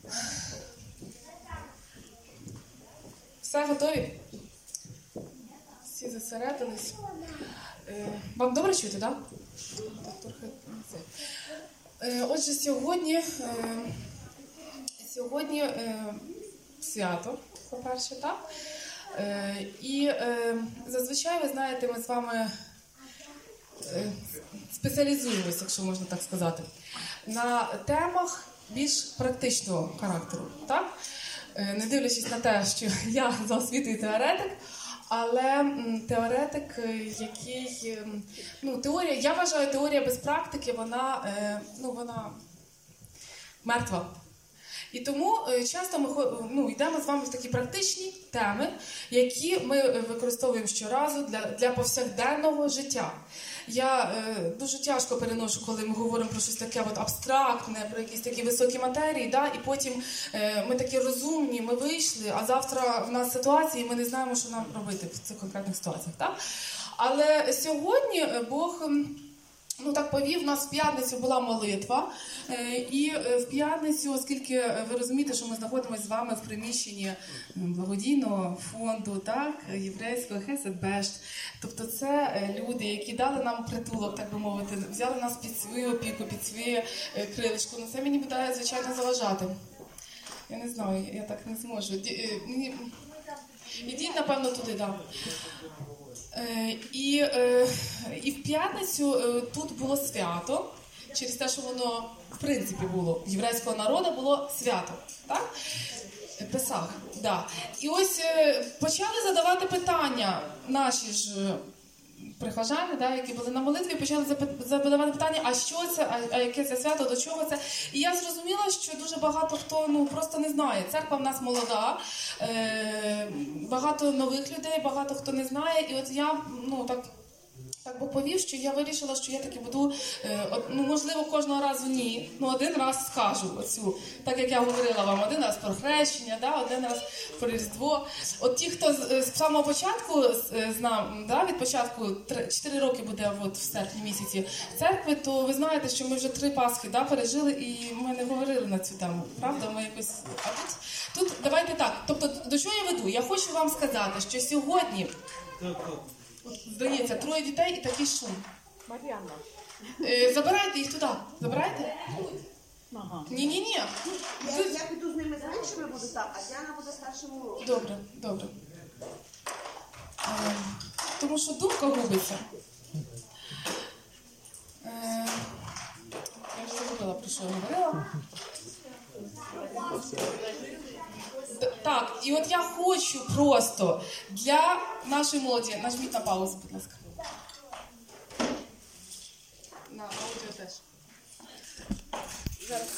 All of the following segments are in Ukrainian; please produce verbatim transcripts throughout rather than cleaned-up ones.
Все готові? Всі зосередились. Вам добре чути, так? Отже, сьогодні, сьогодні свято, по-перше, так? І зазвичай, ви знаєте, ми з вами спеціалізуємося, якщо можна так сказати, на темах більш практичного характеру, так? Не дивлячись на те, що я за освітою теоретик, але теоретик, який, ну, теорія, я вважаю, теорія без практики, вона, ну, вона мертва. І тому часто ми ну, йдемо з вами в такі практичні теми, які ми використовуємо щоразу для, для повсякденного життя. Я е, дуже тяжко переношу, коли ми говоримо про щось таке от абстрактне, про якісь такі високі матерії, да? І потім е, ми такі розумні, ми вийшли, а завтра в нас ситуації, і ми не знаємо, що нам робити в цих конкретних ситуаціях. Так? Але сьогодні Бог... Ну, так повів, у нас в п'ятницю була молитва, і в п'ятницю, оскільки ви розумієте, що ми знаходимося з вами в приміщенні благодійного фонду, так, єврейського Хесед Бешт, тобто це люди, які дали нам притулок, так би мовити, взяли нас під свою опіку, під своє крилечко, ну це мені буде, звичайно, заважати. Я не знаю, я так не зможу. Ідіть, напевно, туди, так. І, і в п'ятницю тут було свято, через те, що воно, в принципі, було, єврейського народу було свято, так? Песах, да. І ось почали задавати питання наші ж прихожани, да, які були на молитві, почали задавати питання, а що це, а, а яке це свято, до чого це. І я зрозуміла, що дуже багато хто ну, просто не знає. Церква в нас молода, е, багато нових людей, багато хто не знає. І от я, ну, так, так Бог повів, що я вирішила, що я таки буду, е, от, ну, можливо, кожного разу ні, ну, один раз скажу оцю, так як я говорила вам, один раз про хрещення, да, один раз про Різдво. От ті, хто з, з самого початку знав, да, від початку, чотири роки буде от, в серпні місяці церкви, то ви знаєте, що ми вже три Пасхи, да, пережили, і ми не говорили на цю тему, правда? Ми якось... А тут, тут давайте так, тобто, до чого я веду? Я хочу вам сказати, що сьогодні... Здається, троє дітей і такий шум. Мар'яна. Е, забирайте їх туди. Забирайте? Ага. Ні-ні-ні. Я, я піду з ними з меншими буду там, а Діана буде старшим уроком. Добре, добре. Е, тому що думка губиться. Е, я вже забула, про що я говорила. Так, і от я хочу просто для нашої молоді, нажміть на паузу, будь ласка. На аудіо теж. Зараз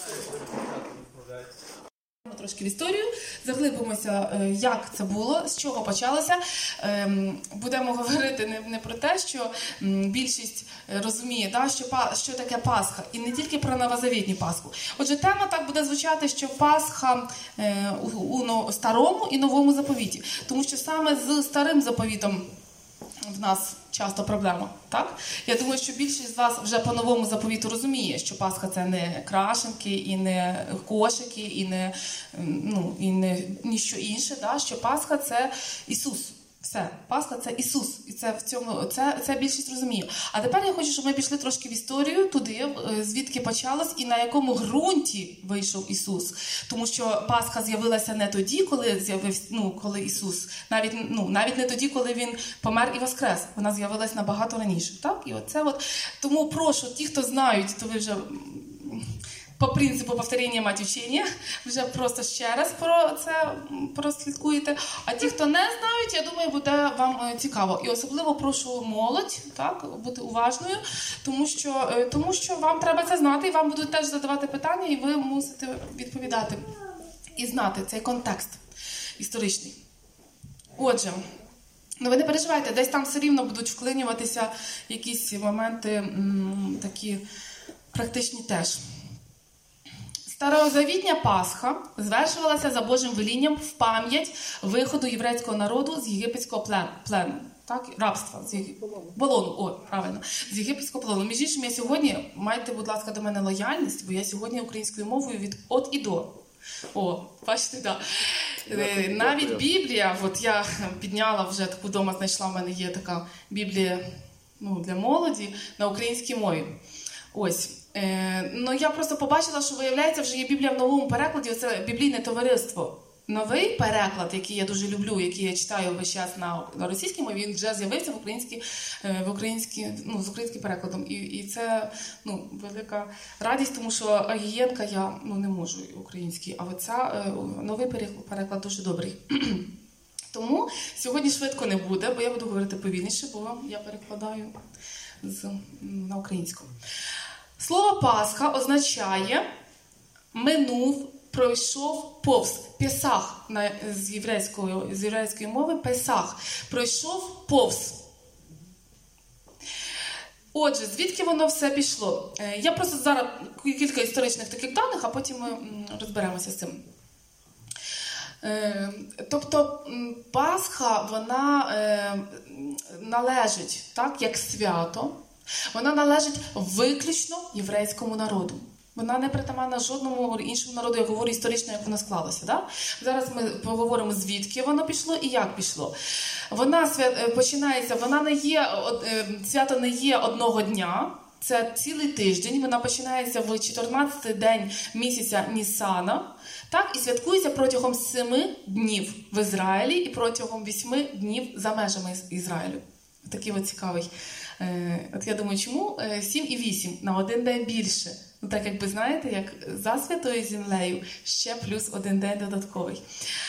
трошки в історію, заглибимося, як це було, з чого почалося. Будемо говорити не, не про те, що більшість розуміє, да, що, що таке Пасха, і не тільки про новозавітню Пасху. Отже, тема так буде звучати, що Пасха у, у старому і новому заповіті. Тому що саме з старим заповітом в нас часто проблема, так? Я думаю, що більшість з вас вже по новому заповіту розуміє, що Пасха – це не крашенки, і не кошики, і не, ну, і не ніщо інше, да? Що Пасха – це Ісус. Все, Пасха – це Ісус. І це, в цьому, це, це більшість розуміє. А тепер я хочу, щоб ми пішли трошки в історію, туди, звідки почалось і на якому ґрунті вийшов Ісус. Тому що Пасха з'явилася не тоді, коли, з'явився, ну, коли Ісус, навіть, ну, навіть не тоді, коли Він помер і воскрес. Вона з'явилася набагато раніше. Так? І оце от. Тому прошу, ті, хто знають, то ви вже... по принципу повторення мать учення, вже просто ще раз про це прослідкуєте. А ті, хто не знають, я думаю, буде вам цікаво. І особливо прошу молодь, так, бути уважною, тому що, тому що вам треба це знати, і вам будуть теж задавати питання, і ви мусите відповідати і знати цей контекст історичний. Отже, ну ви не переживайте, десь там все рівно будуть вклинюватися якісь моменти м, такі практичні теж. Старозавітня Пасха звершувалася за Божим велінням в пам'ять виходу єврейського народу з єгипетського плену, плену так, рабства, з Єгип... полону, о, правильно, з єгипетського полону. Між іншим, я сьогодні, майте, будь ласка, до мене лояльність, бо я сьогодні українською мовою від от і до. О, бачите, так. Да. Навіть Біблія, от я підняла вже таку вдома, знайшла, в мене є така Біблія, ну, для молоді на українській мові. Ось. Е, ну, я просто побачила, що, виявляється, вже є Біблія в новому перекладі, це біблійне товариство. Новий переклад, який я дуже люблю, який я читаю весь час на, на російській мові, він вже з'явився в українській, в українській, ну, з українським перекладом. І, і це, ну, велика радість, тому що Агієнка я, ну, не можу український, а оця, новий переклад дуже добрий. Тому сьогодні швидко не буде, бо я буду говорити повільніше, бо я перекладаю з, на українську. Слово Пасха означає «минув», пройшов повз. Песах на, з, єврейської, з єврейської мови Песах. Пройшов повз. Отже, звідки воно все пішло? Я просто зараз кілька історичних таких даних, а потім ми розберемося з цим. Тобто Пасха, вона належить, так, як свято, вона належить виключно єврейському народу. Вона не притаманна жодному іншому народу, я говорю історично, як вона склалася. Да? Зараз ми поговоримо, звідки воно пішло і як пішло. Вона свят... починається, вона не є, свято не є одного дня, це цілий тиждень, вона починається в чотирнадцятий день місяця Нісана, так, і святкується протягом семи днів в Ізраїлі і протягом вісьми днів за межами Ізраїлю. Такий от цікавий. От я думаю, чому сім і вісім на один день більше? Ну, так, якби, знаєте, як за Святою Землею ще плюс один день додатковий.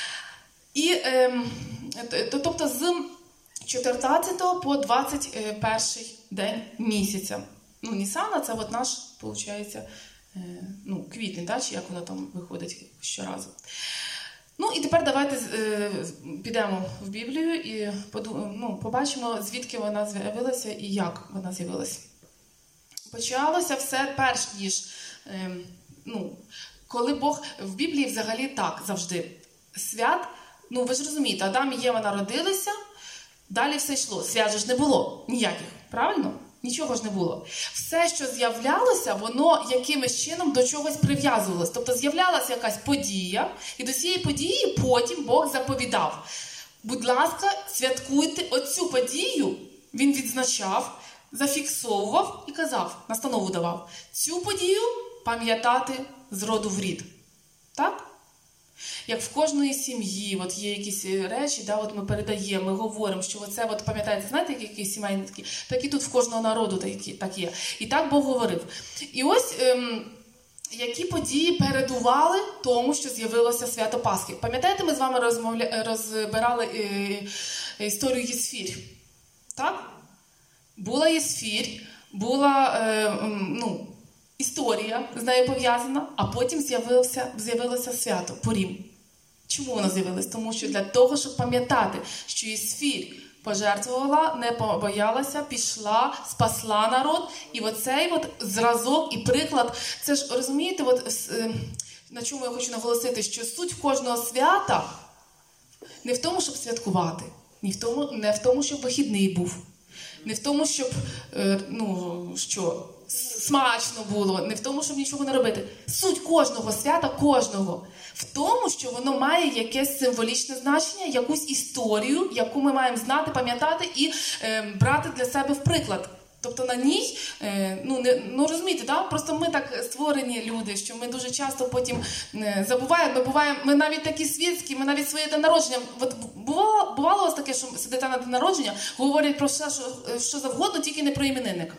І, е, тобто, з чотирнадцятого по двадцять перший день місяця. Ну, Нісана, це от наш, виходить, е, ну, квітень, да, чи як воно там виходить щоразу. Ну, і тепер давайте е, підемо в Біблію і поду, ну, побачимо, звідки вона з'явилася і як вона з'явилася. Почалося все перш ніж, е, ну, коли Бог, в Біблії взагалі так завжди, свят, ну ви ж розумієте, Адам і Єва народилися, далі все йшло, свят же ж не було ніяких, правильно? Нічого ж не було. Все, що з'являлося, воно якимось чином до чогось прив'язувалось. Тобто з'являлася якась подія, і до цієї події потім Бог заповідав. Будь ласка, святкуйте оцю подію, він відзначав, зафіксовував і казав, настанову давав. Цю подію пам'ятати з роду в рід. Так? Як в кожної сім'ї от є якісь речі, да, от ми передаємо, ми говоримо, що оце, от, пам'ятаєте, знаєте, які сімейні такі? Так і тут в кожного народу такі, так є. І так Бог говорив. І ось ем, які події передували тому, що з'явилося свято Пасхи. Пам'ятаєте, ми з вами розмовля... розбирали е... історію Єсфір? Так? Була Єсфір, була е... ну, історія з нею пов'язана, а потім з'явилося, з'явилося свято Пурім. Чому воно з'явилось? Тому що для того, щоб пам'ятати, що Єсфір пожертвувала, не побоялася, пішла, спасла народ. І оцей от зразок і приклад, це ж, розумієте, от, на чому я хочу наголосити, що суть кожного свята не в тому, щоб святкувати, не в тому, не в тому, щоб вихідний був, не в тому, щоб, ну, що... смачно було, не в тому, щоб нічого не робити. Суть кожного свята, кожного, в тому, що воно має якесь символічне значення, якусь історію, яку ми маємо знати, пам'ятати і е, брати для себе в приклад. Тобто на ній, е, ну, не, ну розумієте, да? Просто ми так створені люди, що ми дуже часто потім е, забуваємо, ми буваємо, ми навіть такі світські, ми навіть своє день народження, от бувало, бувало у вас таке, що сидите на день народження, говорять про все, що, що завгодно, тільки не про іменинника.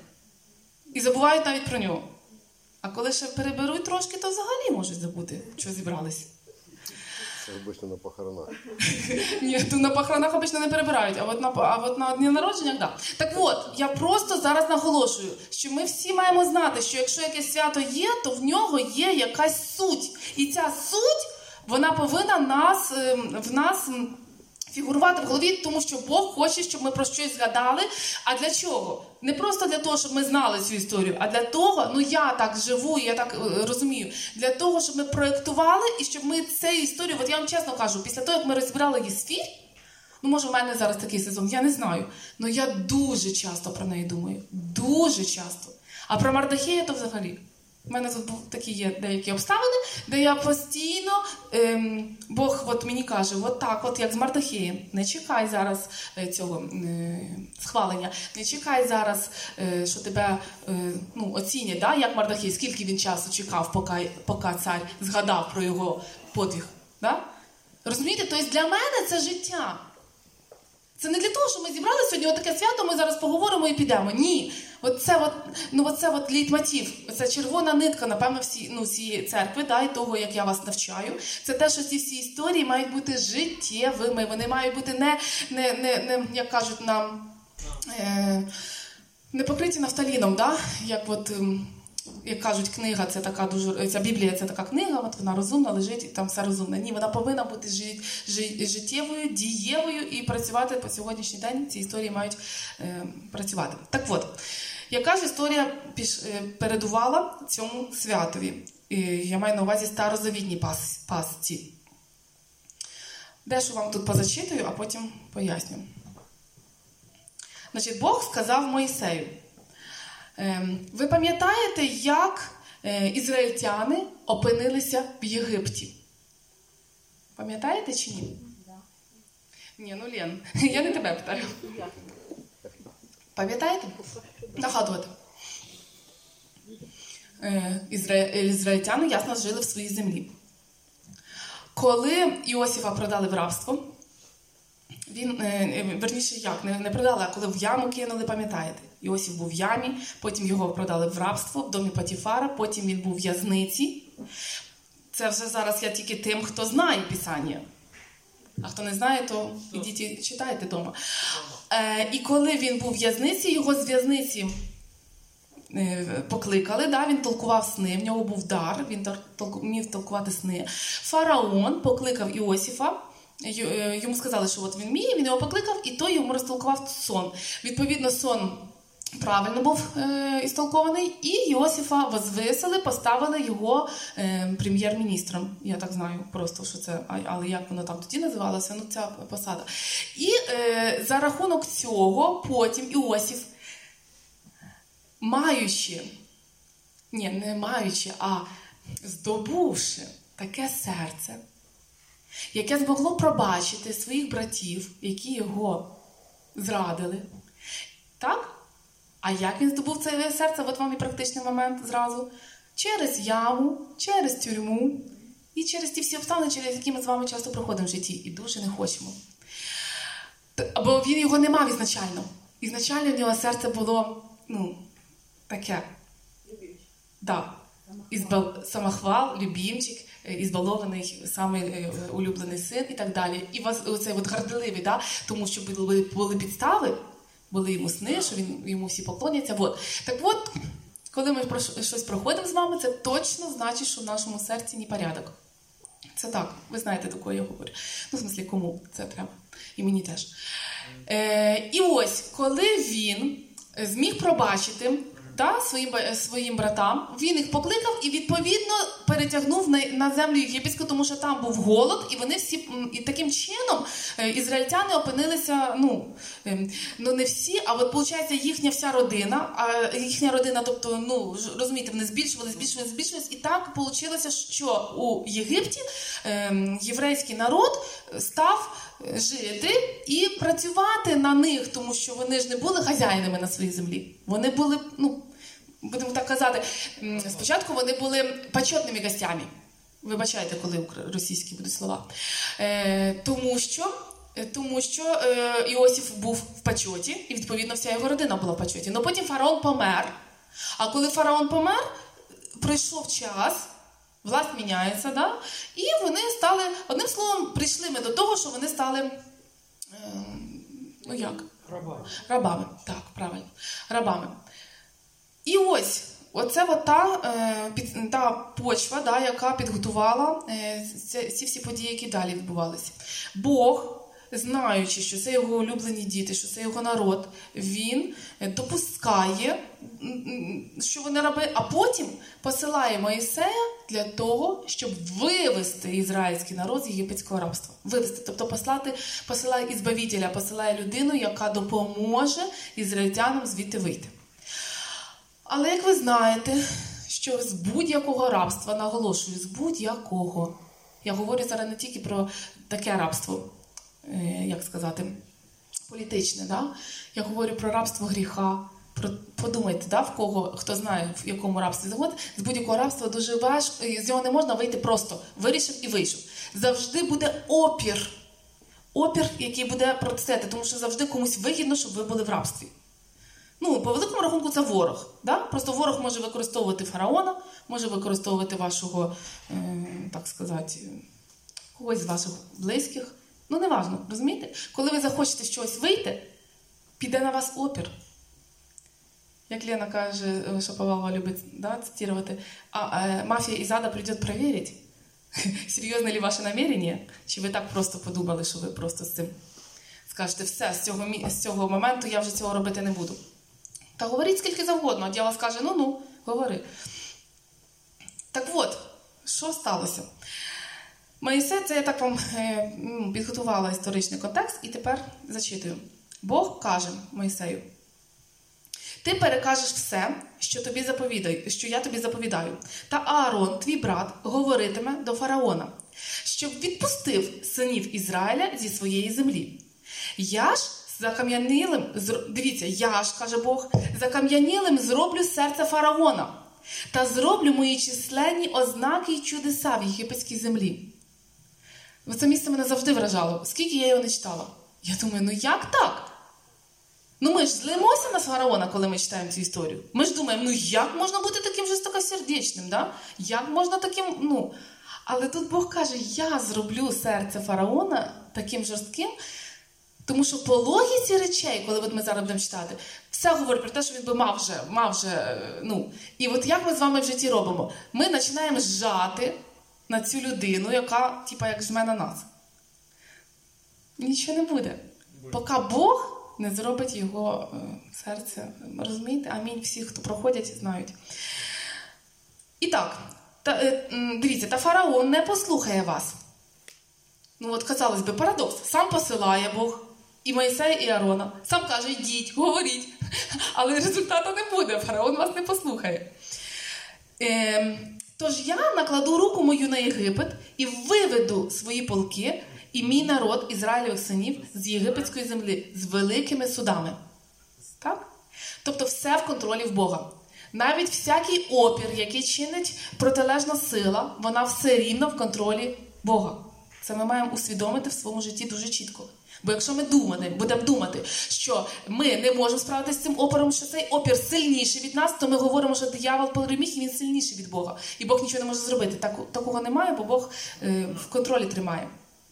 І забувають навіть про нього. А коли ще переберуть трошки, то взагалі можуть забути, що зібрались. Це обично на похоронах. Ні, то на похоронах обично не перебирають, а от на, а от на дні народження, так. Так от, я просто зараз наголошую, що ми всі маємо знати, що якщо якесь свято є, то в нього є якась суть. І ця суть, вона повинна нас, в нас фігурувати в голові, тому що Бог хоче, щоб ми про щось згадали. А для чого? Не просто для того, щоб ми знали цю історію, а для того, ну я так живу, я так е, розумію, для того, щоб ми проєктували і щоб ми цю історію, от я вам чесно кажу, після того, як ми розбирали Єсфір, ну може в мене зараз такий сезон, я не знаю, але я дуже часто про неї думаю, дуже часто. А про Мардохея то взагалі. У мене тут був такі є деякі обставини, де я постійно, ем, Бог от мені каже, от так, от як з Мардохеєм, не чекай зараз е, цього е, схвалення, не чекай зараз, е, що тебе е, ну, оцінять, да, як Мардохей, скільки він часу чекав, поки, поки цар згадав про його подвиг. Да? Розумієте, тобто для мене це життя. Це не для того, що ми зібрали сьогодні отаке свято, ми зараз поговоримо і підемо. Ні. Оце от, ну, оце от лейтмотив, це червона нитка, напевно, всі, ну, всієї церкви, да, і того, як я вас навчаю. Це те, що ці всі історії мають бути життєвими. Вони мають бути не, не, не, не як кажуть нам, е, не покриті нафталіном, да? Як от... Як кажуть, книга це така дуже, ця Біблія це така книга, от вона розумна, лежить і там все розумне. Ні, вона повинна бути жит, жит, життєвою, дієвою і працювати по сьогоднішній день. Ці історії мають е, працювати. Так от, яка ж історія піш, е, передувала цьому святові? Е, я маю на увазі старозавітній пас, пасці. Дещо вам тут позачитую, а потім поясню. Значить, Бог сказав Мойсею: ви пам'ятаєте, як ізраїльтяни опинилися в Єгипті? Пам'ятаєте чи ні? Да. Ні, ну Лен, я не тебе питаю. Пам'ятаєте? Нагадувати. Ізраїльтяни, ясно, жили в своїй землі. Коли Іосифа продали в рабство, він, верніше як, не, не продали, а коли в яму кинули, пам'ятаєте? Іосиф був в ямі, потім його продали в рабство в домі Потіфара, потім він був в в'язниці. Це вже зараз я тільки тим, хто знає Писання. А хто не знає, то ідіть і читайте вдома. Е, і коли він був в в'язниці, його з в'язниці е, покликали, да, він толкував сни, в нього був дар, він вмів толкувати сни. Фараон покликав Іосифа, йому сказали, що от він вміє, він його покликав, і той йому розтолкував сон. Відповідно, сон правильно був е, істолкований, і Йосифа возвисили, поставили його е, прем'єр-міністром. Я так знаю просто, що це, але як воно там тоді називалося, ну ця посада. І е, за рахунок цього потім Іосиф, маючи, ні, не маючи, а здобувши таке серце, яке змогло пробачити своїх братів, які його зрадили. Так? А як він здобув це серце? От вам і практичний момент зразу. Через яму, через тюрму і через ті всі обставини, через які ми з вами часто проходимо в житті. І дуже не хочемо. Бо він його не мав ізначально. Ізначально в нього серце було, ну, таке. Да. Ізбал... Самохвал, любімчик, ізбалований, самий улюблений син і так далі. І вас, оцей от горделивий, да? Тому що були, були підстави, були йому сни, що він, йому всі поклоняться. Вот. Так от, коли ми про щось проходимо з вами, це точно значить, що в нашому серці непорядок. Це так, ви знаєте, до кого я говорю. Ну, в смислі, кому це треба. І мені теж. Е, і ось, коли він зміг пробачити, да, своїм, своїм братам, він їх покликав і, відповідно, перетягнув на, на землю єгипетську, тому що там був голод, і вони всі, і таким чином ізраїльтяни опинилися, ну, ну не всі, а от, виходить, їхня вся родина, а їхня родина, тобто, ну, розумієте, вони збільшували, збільшували, збільшували, і так вийшло, що у Єгипті е, єврейський народ став жити і працювати на них, тому що вони ж не були хазяїнами на своїй землі. Вони були, ну, будемо так казати, спочатку вони були почетними гостями. Вибачайте, коли російські будуть слова. Е, тому що, тому що е, Іосиф був в почеті, і, відповідно, вся його родина була в почеті. Но потім фараон помер. А коли фараон помер, пройшов час, власть міняється, да? І вони стали, одним словом, прийшли ми до того, що вони стали, е, ну як? Рабами. Рабами, так, правильно, рабами. І ось, оце от та, е, під, та почва, да, яка підготувала е, ці, ці всі події, які далі відбувалися. Бог, знаючи, що це його улюблені діти, що це його народ, він допускає, що вони раби, а потім посилає Моїсея для того, щоб вивести ізраїльський народ з єгипетського рабства. Вивести, тобто послати, посилає ізбавителя, посилає людину, яка допоможе ізраїльтянам звідти вийти. Але як ви знаєте, що з будь-якого рабства, наголошую, з будь-якого. Я говорю зараз не тільки про таке рабство, е, як сказати, політичне, да? Я говорю про рабство гріха. Про, подумайте, да, в кого, хто знає, в якому рабстві завод, з будь-якого рабства дуже важко, з нього не можна вийти просто. Вирішив і вийшов. Завжди буде опір. Опір, який буде протистояти, тому що завжди комусь вигідно, щоб ви були в рабстві. Ну, по великому рахунку це ворог. Да? Просто ворог може використовувати фараона, може використовувати вашого, е, так сказати, когось з ваших близьких. Ну, не важливо, розумієте? Коли ви захочете з чогось вийти, піде на вас опір. Як Лена каже, Шаповалова любить, да, цитувати, а е, мафія із ада прийде перевірити, серйозне ли ваше намірення, чи ви так просто подумали, що ви просто з цим скажете, все, з цього, з цього моменту я вже цього робити не буду. Та говоріть скільки завгодно, а дьявол скаже, ну-ну, говори. Так от, що сталося? Моїсей, це я так вам е, підготувала історичний контекст, і тепер зачитую. Бог каже Моїсею, ти перекажеш все, що, тобі заповідаю, що я тобі заповідаю. Та Аарон, твій брат, говоритиме до фараона, щоб відпустив синів Ізраїля зі своєї землі. Я ж закам'янілим, дивіться, я ж, каже Бог, закам'янілим зроблю серце фараона та зроблю мої численні ознаки й чудеса в єгипетській землі. Це місце мене завжди вражало. Скільки я його не читала. Я думаю, ну як так? Ну ми ж злимося на фараона, коли ми читаємо цю історію. Ми ж думаємо, ну як можна бути таким жорстокосердечним, да? Як можна таким, ну... Але тут Бог каже, я зроблю серце фараона таким жорстким, тому що по логіці речей, коли от ми зараз будемо читати, все говорить про те, що він би мав вже, мав вже, ну... І от як ми з вами в житті робимо? Ми починаємо жати на цю людину, яка, типа, як жме на нас. Нічого не буде. Поки Бог не зробить його е, серце. Розумієте? Амінь. Всі, хто проходять, знають. І так, та, е, дивіться, та фараон не послухає вас. Ну от, казалось би, парадокс. Сам посилає Бог і Моїсея, і Аарона. Сам каже, йдіть, говоріть. Але результату не буде. Фараон вас не послухає. Е, тож я накладу руку мою на Єгипет і виведу свої полки і мій народ, Ізраїльових синів, з єгипетської землі, з великими судами. Так? Тобто все в контролі в Бога. Навіть всякий опір, який чинить протилежна сила, вона все рівно в контролі Бога. Це ми маємо усвідомити в своєму житті дуже чітко. Бо якщо ми думати, будемо думати, що ми не можемо справитися з цим опором, що цей опір сильніший від нас, то ми говоримо, що диявол переміг і він сильніший від Бога. І Бог нічого не може зробити. Так, такого немає, бо Бог е, в контролі тримає.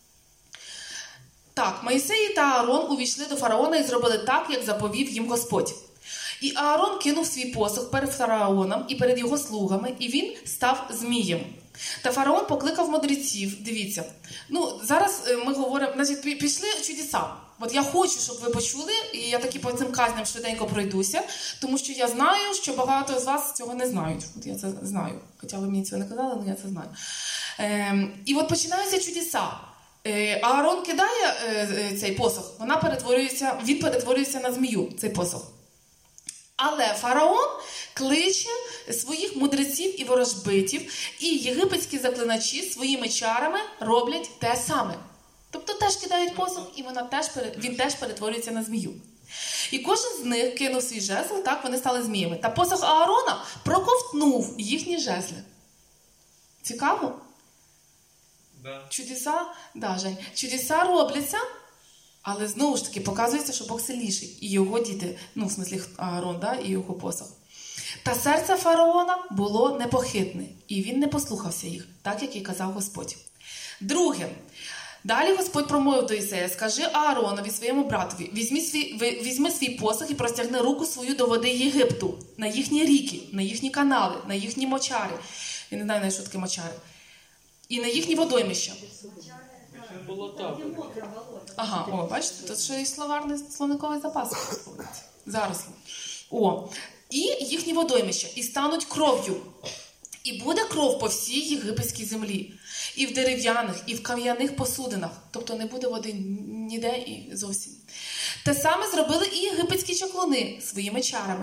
Так, Моїсей та Аарон увійшли до фараона і зробили так, як заповів їм Господь. І Аарон кинув свій посох перед фараоном і перед його слугами, і він став змієм. Та фараон покликав мудреців. Дивіться, ну зараз ми говоримо, значить, пішли чудеса. От я хочу, щоб ви почули, і я таки по цим казням швиденько пройдуся, тому що я знаю, що багато з вас цього не знають. От я це знаю. Хоча ви мені цього не казали, але я це знаю. Ем, і от починаються чудеса. Аарон кидає цей посох, вона перетворюється, він перетворюється на змію, цей посох. Але фараон кличе своїх мудреців і ворожбитів, і єгипетські заклиначі своїми чарами роблять те саме. Тобто теж кидають посох, і вона теж, він теж перетворюється на змію. І кожен з них кинув свій жезл, так вони стали зміями. Та посох Аарона проковтнув їхні жезли. Цікаво? Да. Чудеса, да, Жень, чудеса робляться, але знову ж таки показується, що Бог сильніший. І його діти, ну, в смислі Аарон, да, і його посох. Та серце фараона було непохитне, і він не послухався їх, так, як і казав Господь. Друге. Далі Господь промовив до Ісея, скажи Ааронові, своєму братові, візьми свій, візьми свій посох і простягни руку свою до води Єгипту, на їхні ріки, на їхні канали, на їхні мочари. Я не знаю, що таке мочари. І на їхні водоймища. Болота. Ага, о, бачите, тут ще й словарний словниковий запас. Зараз. О, і їхні водоймища, і стануть кров'ю. І буде кров по всій єгипетській землі. І в дерев'яних, і в кам'яних посудинах. Тобто не буде води ніде і зовсім. Те саме зробили і єгипетські чаклуни своїми чарами.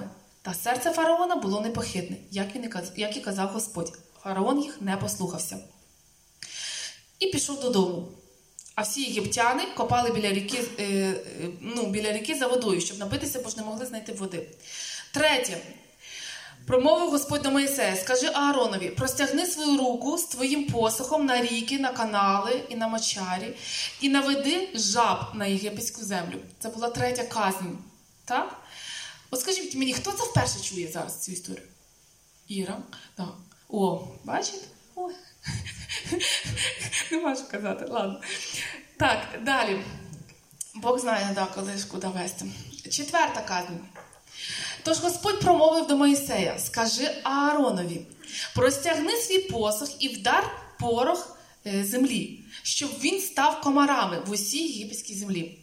Та серце фараона було непохитне, як, він і каз... як і казав Господь. Фараон їх не послухався. І пішов додому. А всі єгиптяни копали біля ріки, е, е, ну, біля ріки за водою, щоб напитися, бо ж не могли знайти води. Третє. Промовив Господь до Моїсея: скажи Ааронові, простягни свою руку з твоїм посохом на ріки, на канали і на мочарі, і наведи жаб на єгипетську землю. Це була третя казнь. Так? От скажіть мені, хто це вперше чує зараз цю історію? Іра? Так. О, бачите? Ой. Не можу казати, ладно. Так, далі. Бог знає, да, коли ж куди вести. Четверта казнь. Тож Господь промовив до Моїсея: скажи Ааронові, простягни свій посох і вдар порох землі, щоб він став комарами в усій єгипетській землі.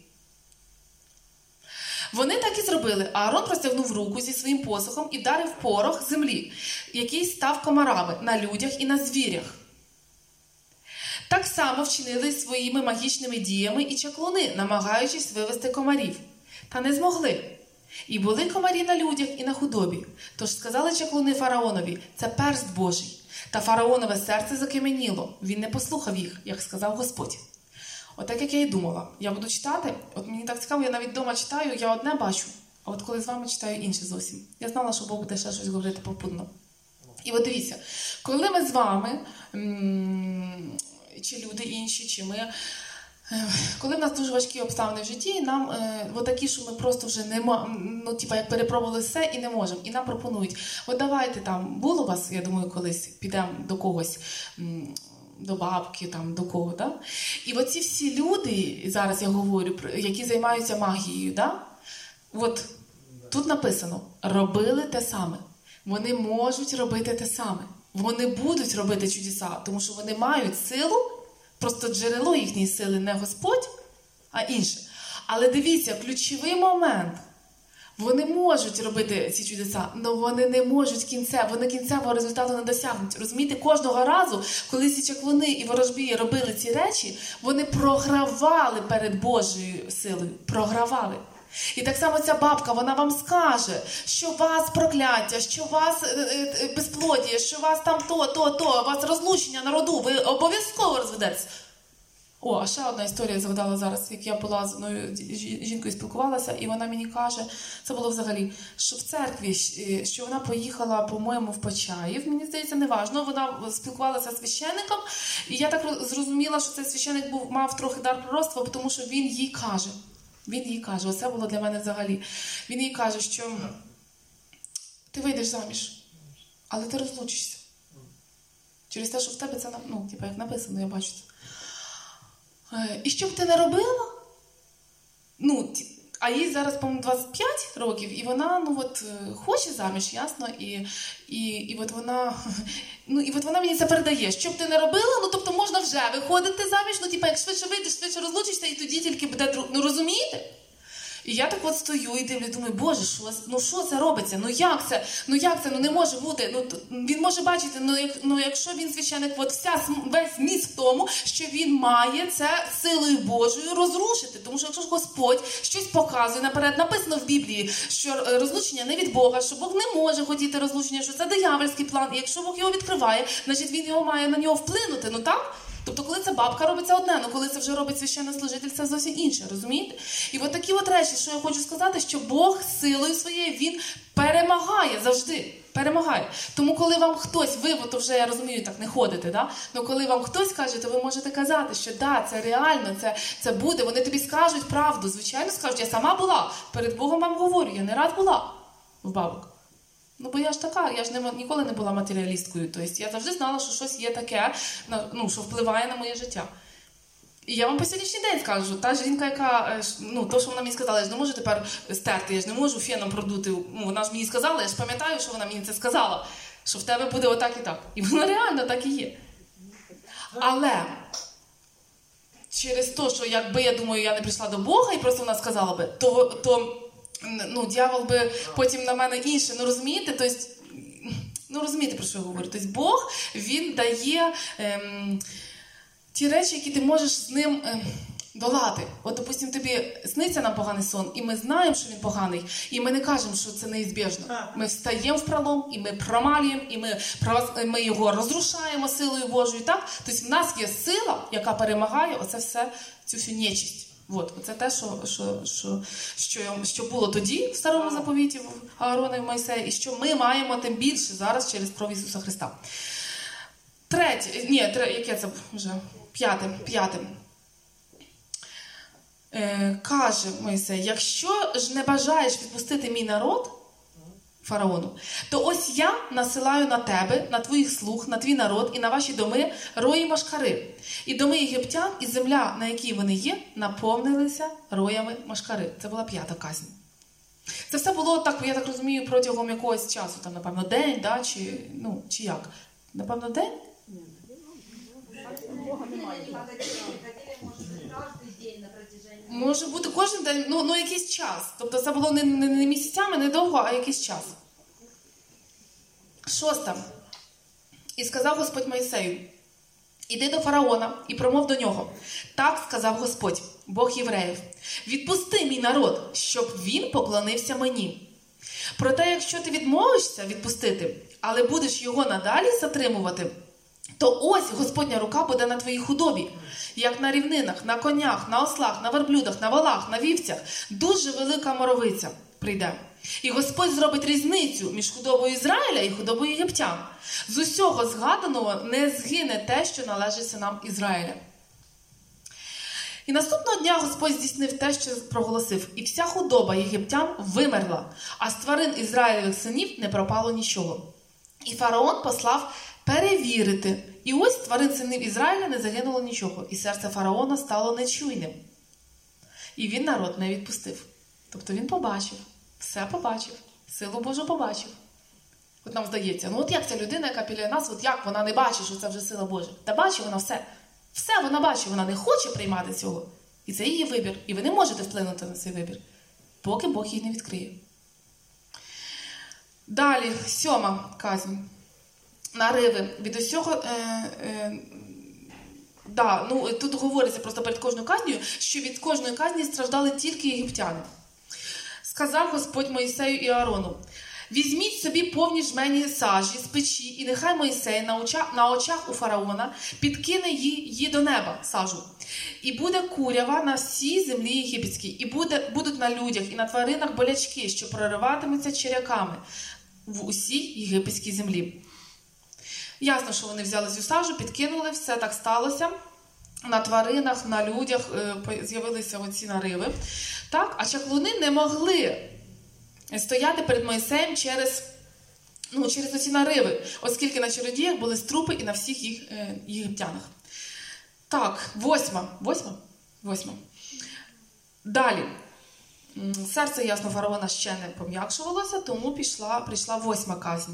Вони так і зробили. Аарон простягнув руку зі своїм посохом і вдарив порох землі, який став комарами на людях і на звірях. Так само вчинили своїми магічними діями і чаклуни, намагаючись вивести комарів. Та не змогли. І були комарі на людях і на худобі. Тож сказали чаклуни фараонові: це перст Божий. Та фараонове серце закам'яніло. Він не послухав їх, як сказав Господь. Отак, як я і думала. Я буду читати, от мені так цікаво, я навіть вдома читаю, я одне бачу, а от коли з вами читаю інше зовсім. Я знала, що Бог буде ще щось говорити попутно. І от дивіться, коли ми з вами, чи люди інші, чи ми, коли в нас дуже важкі обставини в житті, нам е, от такі, що ми просто вже не можемо, ну, типа, як перепробували все і не можемо. І нам пропонують: от давайте там, було у вас, я думаю, колись підемо до когось, м, до бабки, там, до кого, да? І оці всі люди, зараз я говорю, які займаються магією, да? От тут написано: робили те саме. Вони можуть робити те саме. Вони будуть робити чудеса, тому що вони мають силу. Просто джерело їхньої сили не Господь, а інше. Але дивіться, ключовий момент. Вони можуть робити ці чудеса, але вони не можуть кінця, вони кінцевого результату не досягнуть. Розумієте, кожного разу, коли ці чаклуни і ворожбії робили ці речі, вони програвали перед Божою силою. Програвали. І так само ця бабка, вона вам скаже, що у вас прокляття, що у вас безплодіє, що у вас там то, то, то, у вас розлучення на роду, ви обов'язково розведетеся. О, а ще одна історія згадала зараз, як я була з одною жінкою спілкувалася, і вона мені каже, це було взагалі, що в церкві, що вона поїхала, по-моєму, в Почаїв, мені здається, неважно, вона спілкувалася з священником, і я так зрозуміла, що цей священник був, мав трохи дар пророцтва, тому що він їй каже, він їй каже, оце було для мене взагалі, він їй каже, що ти вийдеш заміж, але ти розлучишся. Через те, що в тебе це, ну, типу, як написано, я бачу це. І що б ти не робила? Ну, а їй зараз, по-моєму, двадцять п'ять років, і вона, ну, от, хоче заміж, ясно, і, і, і от вона, ну, і от вона мені це передає. Що б ти не робила, ну, тобто можна вже виходити заміж, ну, типу, як швидше вийдеш, швидше розлучишся, і тоді тільки буде друг, ну, розумієте? І я так от стою і дивлюсь, думаю, боже, що, ну що це робиться? Ну як це? Ну як це? Ну не може бути. Ну він може бачити, ну, як, ну якщо він священик, от вся, весь зміст в тому, що він має це силою Божою розрушити. Тому що якщо ж Господь щось показує наперед, написано в Біблії, що розлучення не від Бога, що Бог не може хотіти розлучення, що це диявольський план. І якщо Бог його відкриває, значить він його має на нього вплинути. Ну так? Тобто, коли це бабка робить, це одне, але коли це вже робить священнослужитель, це зовсім інше, розумієте? І от такі от речі, що я хочу сказати, що Бог силою своєю, Він перемагає завжди, перемагає. Тому, коли вам хтось, ви, то вже, я розумію, так не ходите, да? Але коли вам хтось каже, то ви можете казати, що да, це реально, це, це буде, вони тобі скажуть правду, звичайно скажуть, я сама була, перед Богом вам говорю, я не раз була в бабок. Ну, бо я ж така, я ж не, ніколи не була матеріалісткою. Тобто я завжди знала, що щось є таке, ну, що впливає на моє життя. І я вам по сьогоднішній день скажу, та жінка, яка, ну, то, що вона мені сказала, я ж не можу тепер стерти, я ж не можу феном продути. Ну, вона ж мені сказала, я ж пам'ятаю, що вона мені це сказала, що в тебе буде отак і так. І воно реально так і є. Але через те, що якби, я думаю, я не прийшла до Бога і просто вона сказала би, то... то ну, дьявол би потім на мене інше, ну, розумієте? Тобто, ну, розумієте, про що я говорю? Тобто, Бог, Він дає ем, ті речі, які ти можеш з ним ем, долати. От, допустим, тобі сниться нам поганий сон, і ми знаємо, що він поганий, і ми не кажемо, що це неізбіжно. Ми встаємо в пролом, і ми промалюємо, і ми, ми його розрушаємо силою Божою, так? Тобто в нас є сила, яка перемагає оце все, цю всю нечисть. От, це те, що, що, що, що, що було тоді в Старому Заповіті, в Аарона і в Мойсея, і що ми маємо тим більше зараз через кров Ісуса Христа. Третє, ні, тре, яке це вже? П'яте, п'яте. Е, каже Мойсей, якщо ж не бажаєш відпустити мій народ, фараону, то ось я насилаю на тебе, на твоїх слуг, на твій народ і на ваші доми рої машкари. І доми єгиптян, і земля, на якій вони є, наповнилися роями машкари. Це була п'ята казнь. Це все було, так, я так розумію, протягом якогось часу, там, напевно, день, да, чи, ну, чи як? Напевно, день? Бога немає. Може бути кожен день, ну, ну якийсь час. Тобто це було не, не, не місяцями, не довго, а якийсь час. Шосте. І сказав Господь Мойсею, іди до фараона і промов до нього. Так сказав Господь, Бог євреїв, відпусти мій народ, щоб він поклонився мені. Проте, якщо ти відмовишся відпустити, але будеш його надалі затримувати, то ось Господня рука буде на твоїй худобі, як на рівнинах, на конях, на ослах, на верблюдах, на волах, на вівцях. Дуже велика моровиця прийде. І Господь зробить різницю між худобою Ізраїля і худобою єгиптян. З усього згаданого не згине те, що належить синам Ізраїля. І наступного дня Господь здійснив те, що проголосив. І вся худоба єгиптян вимерла, а з тварин Ізраїлевих синів не пропало нічого. І фараон послав перевірити. І ось тварин синів Ізраїля не загинуло нічого. І серце фараона стало нечуйним. І він народ не відпустив. Тобто він побачив, все побачив, силу Божу побачив. От нам здається, ну от як ця людина, яка біля нас, от як вона не бачить, що це вже сила Божа? Та бачить вона все. Все вона бачить, вона не хоче приймати цього. І це її вибір. І ви не можете вплинути на цей вибір, поки Бог її не відкриє. Далі, сьома казнь. Нариви. Від усього... Е, е, да, ну, тут говориться просто перед кожною казнею, що від кожної казні страждали тільки єгиптяни. Сказав Господь Мойсею і Аарону, візьміть собі повні жмені сажі з печі, і нехай Мойсей на очах, на очах у фараона підкине її до неба, сажу. І буде курява на всій землі єгипетській, і буде, будуть на людях і на тваринах болячки, що прориватимуться черяками в усій єгипетській землі. Ясно, що вони взяли цю сажу, підкинули, все так сталося. На тваринах, на людях е, з'явилися оці нариви. Так? А чаклуни не могли стояти перед Мойсеєм через, ну, через оці нариви, оскільки на чародіях були струпи і на всіх їх е, єгиптянах. Так, восьма. Восьма? Восьма. Далі. Серце, ясно, фараона ще не пом'якшувалося, тому пішла, прийшла восьма казнь.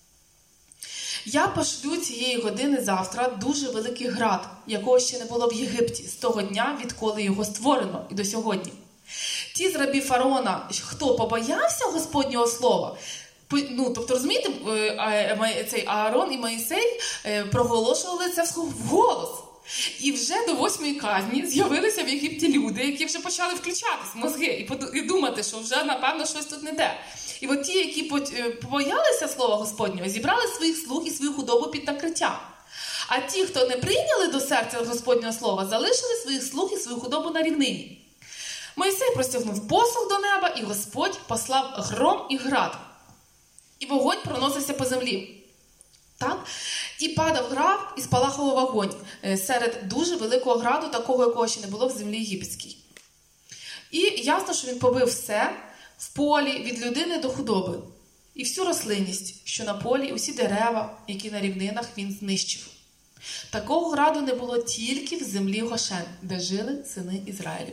Я пошлю цієї години завтра дуже великий град, якого ще не було в Єгипті, з того дня, відколи його створено, і до сьогодні. Ті з рабів фараона, хто побоявся Господнього слова, ну, тобто, розумієте, цей Аарон і Моїсей проголошували це вголос. І вже до восьмої казні з'явилися в Єгипті люди, які вже почали включатись в мозги і думати, що вже, напевно, щось тут не те. І от ті, які побоялися слова Господнього, зібрали своїх слуг і свою худобу під накриттям. А ті, хто не прийняли до серця Господнього слова, залишили своїх слуг і свою худобу на рівнині. Мойсей простягнув посох до неба, і Господь послав гром і град. І вогонь проносився по землі. Так? І падав град, і спалахував вогонь серед дуже великого граду, такого, якого ще не було в землі єгипетській. І ясно, що він побив все в полі від людини до худоби. І всю рослинність, що на полі, усі дерева, які на рівнинах, він знищив. Такого граду не було тільки в землі Гошен, де жили сини Ізраїлеві.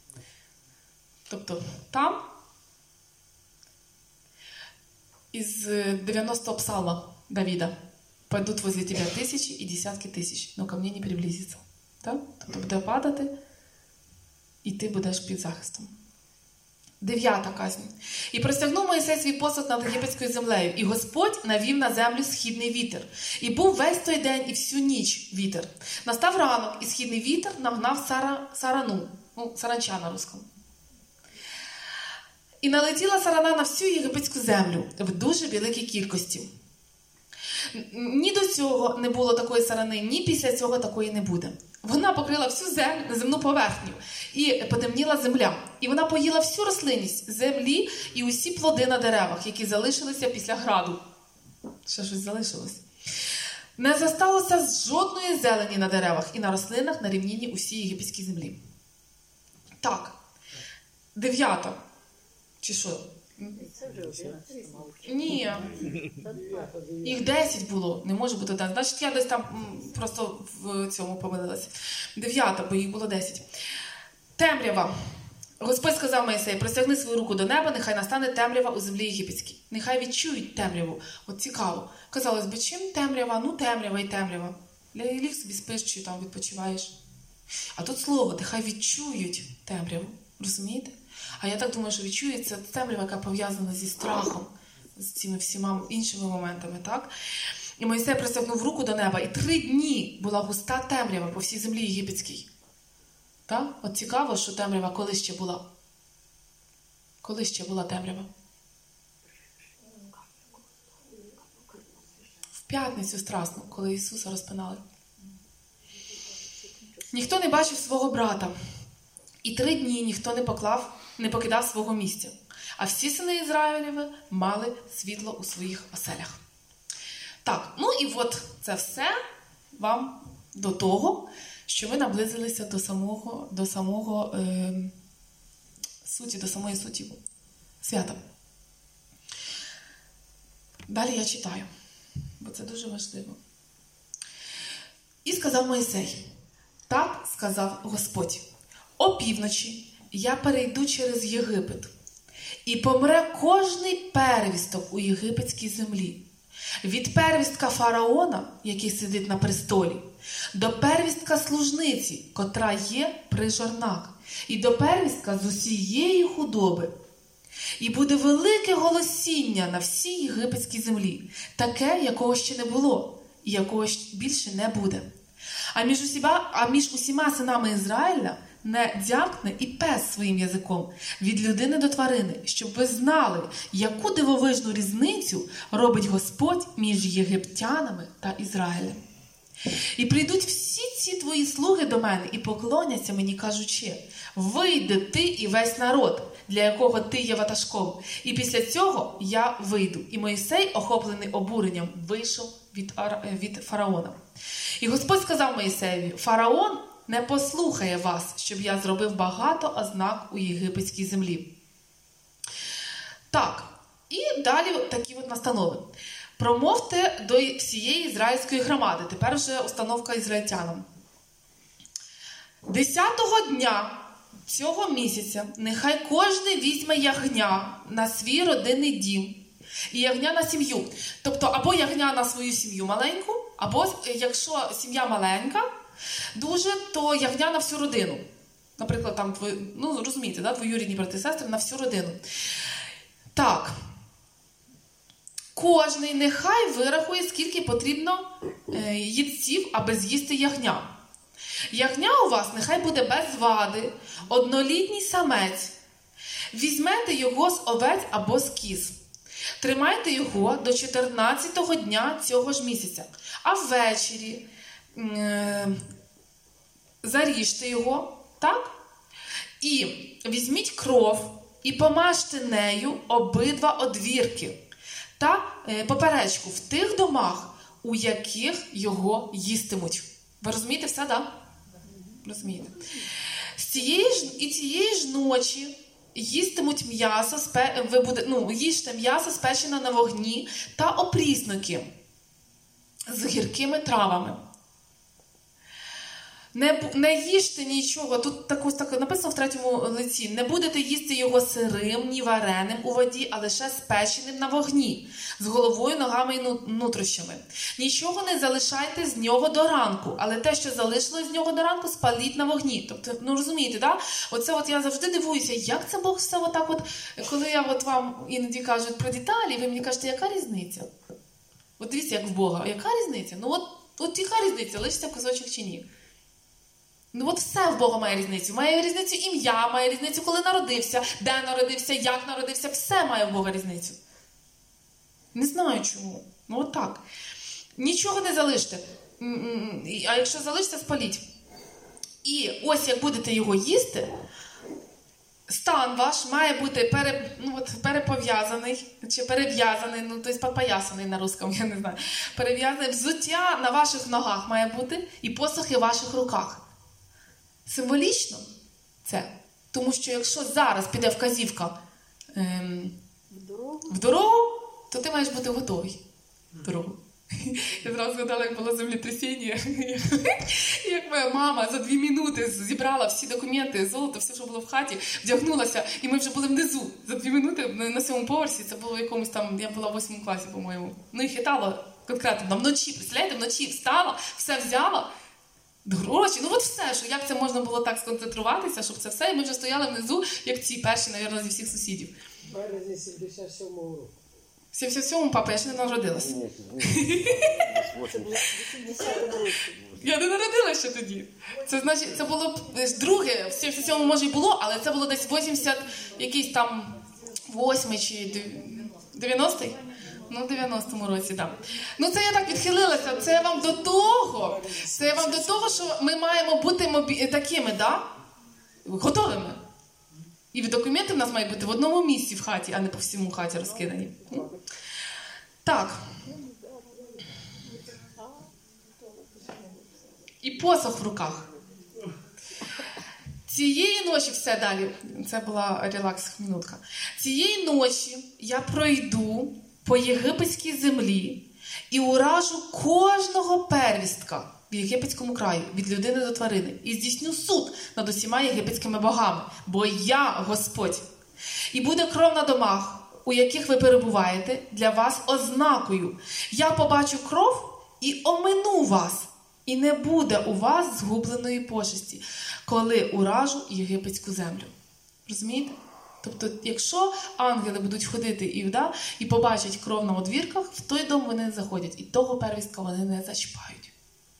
Тобто там, із дев'яностого псалма Давіда, «Пойдут возле тебя тисячі і десятки тисяч, но ко мне не приблизиться». Так? Тобто буде падати, і ти будеш під захистом. Дев'ята казнь. І простягнув Мойсей свій посуд над єгипетською землею, і Господь навів на землю східний вітер. І був весь той день і всю ніч вітер. Настав ранок, і східний вітер нагнав сара, сарану, ну, саранча на русскому. І налетіла сарана на всю єгипетську землю в дуже великій кількості. Ні до цього не було такої сарани, ні після цього такої не буде. Вона покрила всю землю, земну поверхню, і потемніла земля. І вона поїла всю рослинність землі і усі плоди на деревах, які залишилися після граду. Ще щось залишилось. Не зосталося жодної зелені на деревах і на рослинах на рівнині усій єгипетській землі. Так, дев'ята. Чи що? Це вже одинадцять, мабуть. Ні. Їх десять було. Не може бути так. Значить, я десь там м, просто в цьому помилилася. Дев'ята, бо їх було десять. Темрява. Господь сказав Мойсею: простягни свою руку до неба, нехай настане темрява у землі єгипетській. Нехай відчують темряву. От цікаво. Казалось би, чим темрява? Ну, темрява і темрява. Ліг собі спиш, чи там відпочиваєш. А тут слово, нехай відчують темряву. Розумієте? А я так думаю, що відчується темрява, яка пов'язана зі страхом, з цими всіма іншими моментами, так? І Мойсей простягнув руку до неба, і три дні була густа темрява по всій землі єгипетській. Так? От цікаво, що темрява коли ще була? Коли ще була темрява? В п'ятницю страсну, коли Ісуса розпинали. Ніхто не бачив свого брата. І три дні ніхто не поклав, не покидав свого місця. А всі сини Ізраїлєві мали світло у своїх оселях. Так, ну і от це все вам до того, що ви наблизилися до самого, до самого е, суті, до самої суті свята. Далі я читаю, бо це дуже важливо. І сказав Мойсей: так сказав Господь: опівночі я перейду через Єгипет, і помре кожний первісток у єгипетській землі. Від первістка фараона, який сидить на престолі, до первістка служниці, котра є при жорнах, і до первістка з усієї худоби. І буде велике голосіння на всій єгипетській землі, таке, якого ще не було, і якого більше не буде. А між усіма, а між усіма синами Ізраїля не дзявкне і пес своїм язиком від людини до тварини, щоб ви знали, яку дивовижну різницю робить Господь між єгиптянами та Ізраїлем. І прийдуть всі ці твої слуги до мене і поклоняться мені, кажучи: вийди ти і весь народ, для якого ти є ватажком. І після цього я вийду. І Мойсей, охоплений обуренням, вийшов від, від фараона. І Господь сказав Мойсеєві: фараон не послухає вас, щоб я зробив багато ознак у єгипетській землі. Так, і далі такі от настанови. Промовте до всієї ізраїльської громади. Тепер вже установка ізраїльтянам. Десятого дня цього місяця нехай кожен візьме ягня на свій родинний дім і ягня на сім'ю. Тобто або ягня на свою сім'ю маленьку, або якщо сім'я маленька дуже, то ягня на всю родину. Наприклад, там, ну розумієте, да, двоюрідні брати і сестри на всю родину. Так. Кожний нехай вирахує, скільки потрібно е, їдців, аби з'їсти ягня. Ягня у вас нехай буде без вади, однолітній самець. Візьмете його з овець або з кіз. Тримайте його до чотирнадцятого дня цього ж місяця. А ввечері е, заріжте його, так? І візьміть кров і помажте нею обидва одвірки та е, поперечку в тих домах, у яких його їстимуть. Ви розумієте все, так? Да? Розумієте. З цієї ж, і цієї ж ночі їстимуть м'ясо, спе, ви буде, ну, їжте м'ясо, спечене на вогні, та опрісники з гіркими травами. Не, бу- не їжте нічого, тут так, ось так написано в третьому лиці, не будете їсти його сирим, ні вареним у воді, а лише спеченим на вогні, з головою, ногами і ну- нутрощами. Нічого не залишайте з нього до ранку, але те, що залишилось з нього до ранку, спаліть на вогні. Тобто, ну розумієте, да? Оце от я завжди дивуюся, як це Бог все отак от, коли я от вам іноді кажуть про деталі, ви мені кажете, яка різниця? От дивіться, як в Бога, яка різниця? Ну от, от яка різниця, лишиться кусочок чи ні? Ну от все в Бога має різницю. Має різницю ім'я, має різницю, коли народився, де народився, як народився. Все має в Бога різницю. Не знаю чому. Ну от так. Нічого не залиште. А якщо залиште, спаліть. І ось як будете його їсти, стан ваш має бути пере, ну, от, перепов'язаний, чи перев'язаний, ну, тобто попоясаний на русском, я не знаю. Перев'язаний, взуття на ваших ногах має бути і посохи в ваших руках. Символічно це. Тому що якщо зараз піде вказівка ем, В дорогу. в дорогу, то ти маєш бути готовий в дорогу. Я зразу згадала, як було землетрясіння. Як моя мама за дві минути зібрала всі документи, золото, все, що було в хаті, вдягнулася, і ми вже були внизу. За дві минути на сьомому поверсі, це було в якомусь там, я була в восьмому класі, по-моєму. Ну і хитала конкретно, вночі, представляєте, вночі встала, все взяла, гроші, ну от все, що як це можна було так сконцентруватися, щоб це все, і ми вже стояли внизу, як ці перші, мабуть, зі всіх сусідів. В березні сімдесят сьомого року. В сімдесят сьомому, папа, я ще не народилась. Ні, ні, Це було в вісімдесятому році. Я не народилася ще тоді. Це значить, це було б друге, в сімдесят сьомому може й було, але це було десь вісімдесят якийсь там восьмий чи дев'яностий? Ну, в дев'яностому році, так. Ну, це я так відхилилася. Це вам до того, це вам до того, що ми маємо бути мобі... такими, да? Готовими. І документи в нас мають бути в одному місці в хаті, а не по всьому хаті розкидані. Так. І посох в руках. Цієї ночі, все далі, це була релакс-минутка. Цієї ночі я пройду по єгипетській землі і уражу кожного первістка в єгипетському краї, від людини до тварини, і здійсню суд над усіма єгипетськими богами, бо я Господь. І буде кров на домах, у яких ви перебуваєте, для вас ознакою. Я побачу кров і омину вас, і не буде у вас згубленої пошесті, коли уражу єгипетську землю. Розумієте? Тобто, якщо ангели будуть ходити і, да, і побачать кров на одвірках, в той дом вони не заходять, і того первістка вони не зачіпають.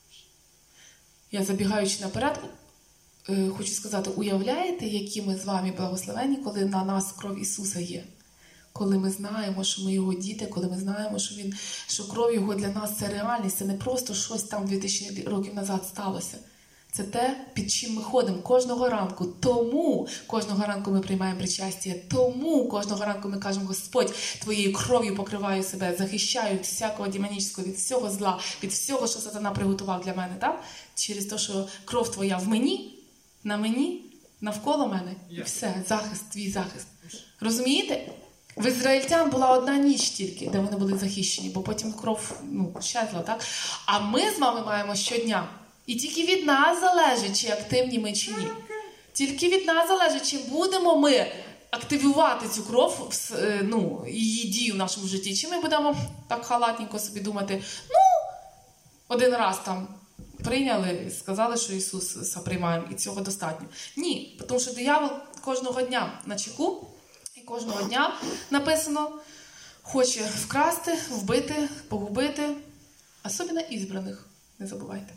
Я, забігаючи наперед, хочу сказати, уявляєте, які ми з вами благословені, коли на нас кров Ісуса є? Коли ми знаємо, що ми Його діти, коли ми знаємо, що, він, що кров Його для нас – це реальність, це не просто щось там дві тисячі років назад сталося. Це те, під чим ми ходимо кожного ранку. Тому кожного ранку ми приймаємо причастя. Тому кожного ранку ми кажемо: Господь, Твоєю кров'ю покриваю себе, захищаю від всякого демонічного, від всього зла, від всього, що сатана приготував для мене. Так? Через те, що кров Твоя в мені, на мені, навколо мене. І все, захист, твій захист. Розумієте? В ізраїльтян була одна ніч тільки, де вони були захищені, бо потім кров ну, щезла. Так? А ми з вами маємо щодня. І тільки від нас залежить, чи активні ми, чи ні. Тільки від нас залежить, чи будемо ми активувати цю кров, ну, її дію в нашому житті, чи ми будемо так халатненько собі думати: ну, один раз там прийняли, сказали, що Ісуса приймаємо, і цього достатньо. Ні, тому що диявол кожного дня на чеку, і кожного дня написано, хоче вкрасти, вбити, погубити, особливо ізбраних, не забувайте.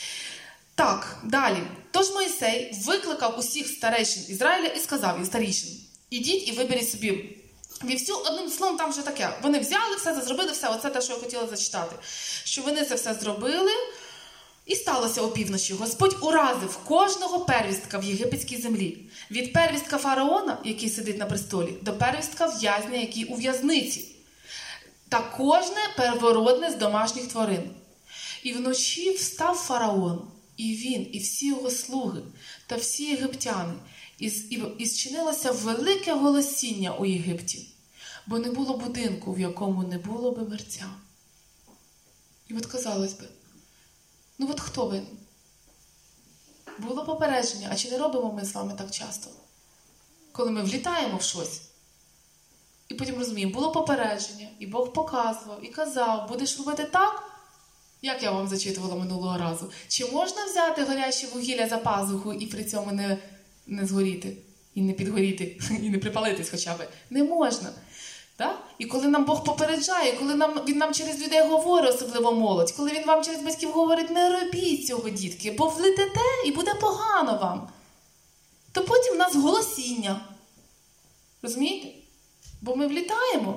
Так, далі. Тож Мойсей викликав усіх старейшин Ізраїля і сказав, і старішин: ідіть і виберіть собі вівцю. Одним словом, там вже таке. Вони взяли все, це зробили все. Оце те, що я хотіла зачитати. Що вони це все зробили. І сталося опівночі. Господь уразив кожного первістка в єгипетській землі. Від первістка фараона, який сидить на престолі, до первістка в'язня, який у в'язниці. Та кожне первородне з домашніх тварин. І вночі встав фараон, і він, і всі його слуги, та всі єгиптяни, і, і, і зчинилося велике голосіння у Єгипті, бо не було будинку, в якому не було би мерця. І от казалось би, ну от хто винен? було попередження. А чи не робимо ми з вами так часто? Коли ми влітаємо в щось, і потім розуміємо, було попередження, і Бог показував, і казав, будеш робити так, як я вам зачитувала минулого разу. Чи можна взяти горяче вугілля за пазуху і при цьому не, не згоріти, і не підгоріти, і не припалитись хоча б? Не можна. Так? І коли нам Бог попереджає, коли нам, Він нам через людей говорить, особливо молодь, коли Він вам через батьків говорить, не робіть цього, дітки, бо влетите і буде погано вам, то потім в нас голосіння. Розумієте? Бо ми влітаємо.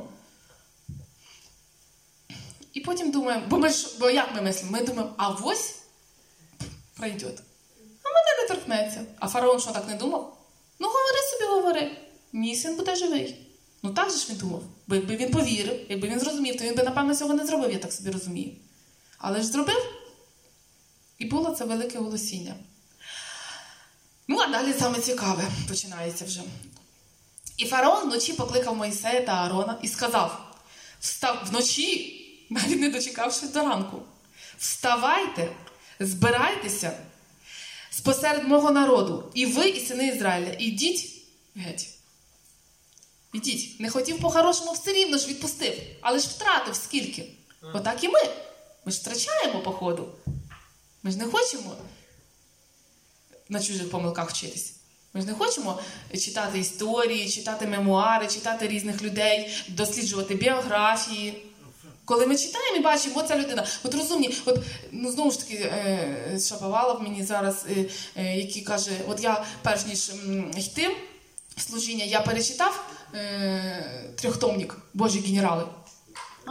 І потім думаємо, бо, ми ж, бо як ми мислимо? Ми думаємо, а ось пройде. А мене не торкнеться. А фараон що, так не думав? Ну, говори собі, говори. Мій син буде живий. Ну, так же ж він думав. Бо якби він повірив, якби він зрозумів, то він би, напевно, цього не зробив, я так собі розумію. Але ж зробив. І було це велике голосіння. Ну, а далі саме цікаве починається вже. І фараон вночі покликав Мойсея та Аарона і сказав, встав вночі, навіть не дочекавшись до ранку, вставайте, збирайтеся спосеред мого народу, і ви, і сини Ізраїля, ідіть геть. Ідіть. Не хотів по-хорошому, все рівно ж відпустив, але ж втратив скільки. Отак і ми. Ми ж втрачаємо по ходу. Ми ж не хочемо на чужих помилках вчитись. Ми ж не хочемо читати історії, читати мемуари, читати різних людей, досліджувати біографії. Коли ми читаємо і бачимо, оця людина, от розумні, от, ну, знову ж таки, е, Шаповалов мені зараз, е, е, який каже, от я, перш ніж м, йти в служіння, я перечитав е, трьохтомник «Божі генерали». А?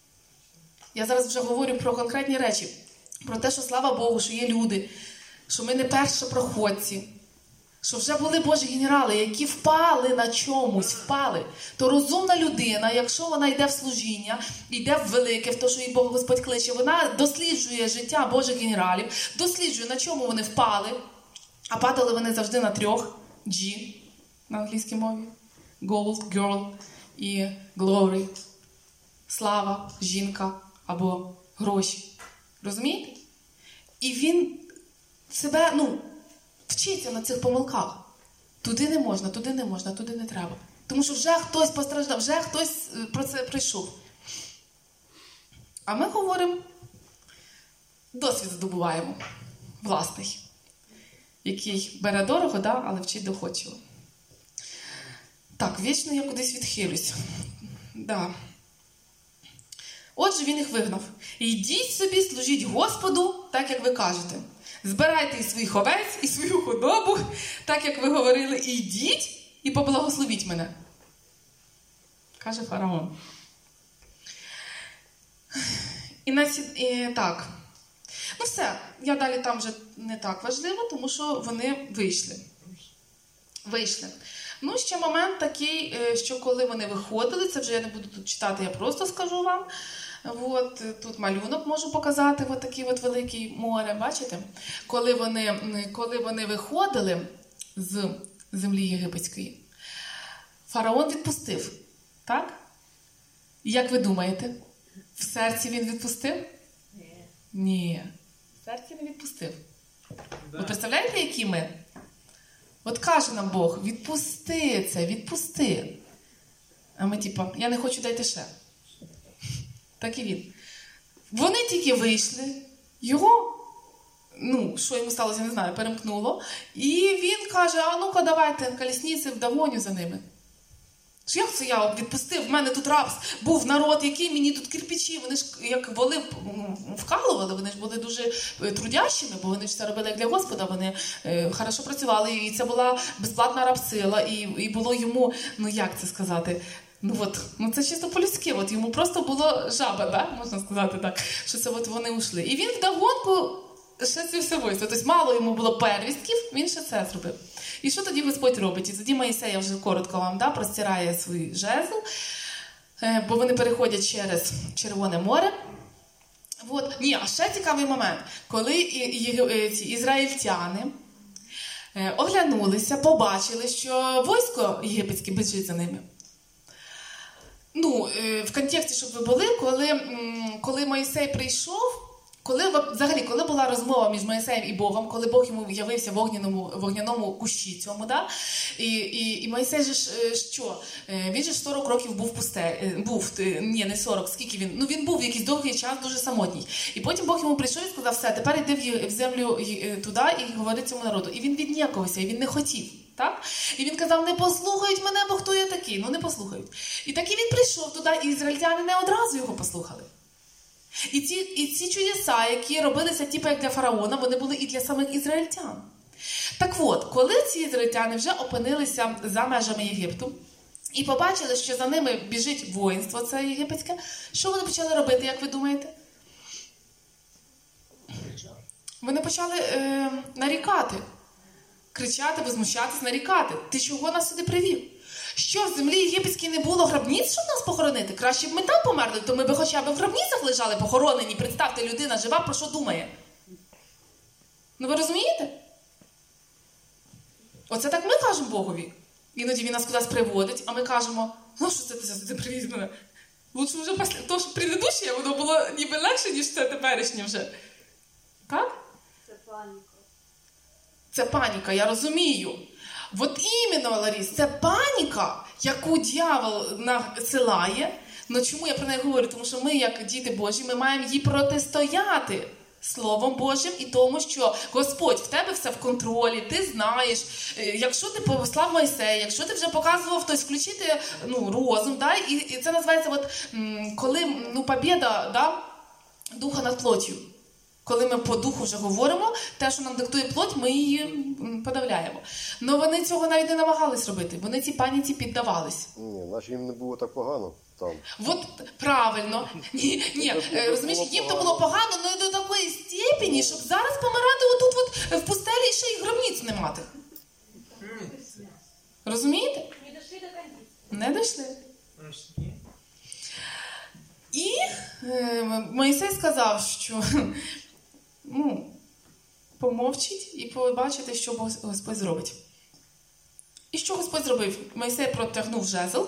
Я зараз вже говорю про конкретні речі, про те, що, слава Богу, що є люди, що ми не першопроходці, що вже були Божі генерали, які впали на чомусь, впали. То розумна людина, якщо вона йде в служіння, йде в велике, в те, що їй Бог Господь кличе, вона досліджує життя Божих генералів, досліджує, на чому вони впали, а падали вони завжди на трьох G на англійській мові. Gold, girl і glory. Слава, жінка або гроші. Розумієте? І він себе, ну, вчиться на цих помилках. Туди не можна, туди не можна, туди не треба. Тому що вже хтось постраждав, вже хтось про це прийшов. А ми говоримо, досвід здобуваємо власний, який бере дорого, да, але вчить доходчиво. Так, вічно я кудись відхилюсь. Да. Отже, він їх вигнав. «Йдіть собі, служіть Господу, так, як ви кажете. Збирайте і своїх овець, і свою худобу, так, як ви говорили, і йдіть, і поблагословіть мене», каже фараон. І, на ці... і так. Ну все, я далі там вже не так важливо, тому що вони вийшли. Вийшли. Ну, ще момент такий, що коли вони виходили, це вже я не буду тут читати, я просто скажу вам. От, тут малюнок можу показати, от такий от великий море, бачите? Коли вони, коли вони виходили з землі єгипетської, фараон відпустив, так? Як ви думаєте, в серці він відпустив? Ні. Ні, в серці не відпустив. Да. Ви представляєте, які ми? От каже нам Бог, відпусти це, відпусти. А ми типа, я не хочу, дайте ще. Так і він. Вони тільки вийшли, його, ну, що йому сталося, не знаю, перемкнуло. І він каже, а ну-ка давайте колісниці вдогоню за ними. Що як це я відпустив? В мене тут раб був народ, який мені тут кирпичі, вони ж як воли вкалували, вони ж були дуже трудящими, бо вони ж це робили як для Господа, вони е, хорошо працювали, і це була безплатна рабсила, і, і було йому, ну як це сказати, ну от, ну це чисто по-людськи, от йому просто було жаба, да? Можна сказати так, що це от вони ушли. І він вдогонку ще це все вийшло, тобто мало йому було первістків, він ще це зробив. І що тоді Господь робить? І тоді Моїсей, я вже коротко вам да, простирає свій жезл, бо вони переходять через Червоне море. От. Ні, а ще цікавий момент. Коли ці ізраїльтяни оглянулися, побачили, що військо єгипетське біжить за ними. Ну, в контексті, щоб ви були, коли, коли Моїсей прийшов, Коли взагалі, коли була розмова між Мойсеєм і Богом, коли Бог йому явився в вогняному, вогняному кущі цьому, да? і, і, і Мойсей же ж що? Він же сорок років був пусте, був, ні, не сорок, скільки він? Ну він був якийсь довгий час дуже самотній. І потім Бог йому прийшов і сказав: все, тепер йди в землю туди і говори цьому народу. І він віднякувався, і він не хотів. Так? І він казав: не послухають мене, бо хто я такий? Ну не послухають. І так і він прийшов туди, і ізраїльтяни не одразу його послухали. І ці, і ці чудеса, які робилися типу як для фараона, вони були і для самих ізраїльтян. Так от, коли ці ізраїльтяни вже опинилися за межами Єгипту і побачили, що за ними біжить воїнство це єгипетське, що вони почали робити, як ви думаєте? Вони почали е, нарікати. Кричати, возмущатись, нарікати. Ти чого нас сюди привів? Що, в землі єгипетській не було гробниць, щоб нас похоронити? Краще б ми там померли, то ми б хоча б в гробницях лежали похоронені. Представте, людина жива, про що думає? Ну ви розумієте? Оце так ми кажемо Богові. Іноді він нас кудись приводить, а ми кажемо: ну що це ти сюди привіз мене? Лучше вже після того, що предыдущее, воно було ніби легше, ніж це теперішнє вже. Так? Це паніка. Це паніка, я розумію. От іменно, Ларіс, це паніка, яку дьявол насилає. Ну чому я про неї говорю? Тому що ми, як діти Божі, ми маємо їй протистояти Словом Божим і тому, що Господь в тебе все в контролі, ти знаєш. Якщо ти послав Мойсея, якщо ти вже показував хтось включити ну, розум, да? і, і це називається, от, коли ну, побєда да? духа над плоттю. Коли ми по духу вже говоримо, те, що нам диктує плоть, ми її подавляємо. Але вони цього навіть не намагались робити. Вони цій паніці піддавались. Ні, наче їм не було так погано там. От правильно. Ні, ні, розумієш, їм то було погано, але до такої степені, щоб зараз помирати отут от в пустелі і ще й гробниць не мати. Розумієте? Не дошли до кондиції. Не дійшли. І е, Мойсей сказав, що ну, помовчіть і побачите, що Господь зробить. І що Господь зробив? Мойсей протягнув жезл,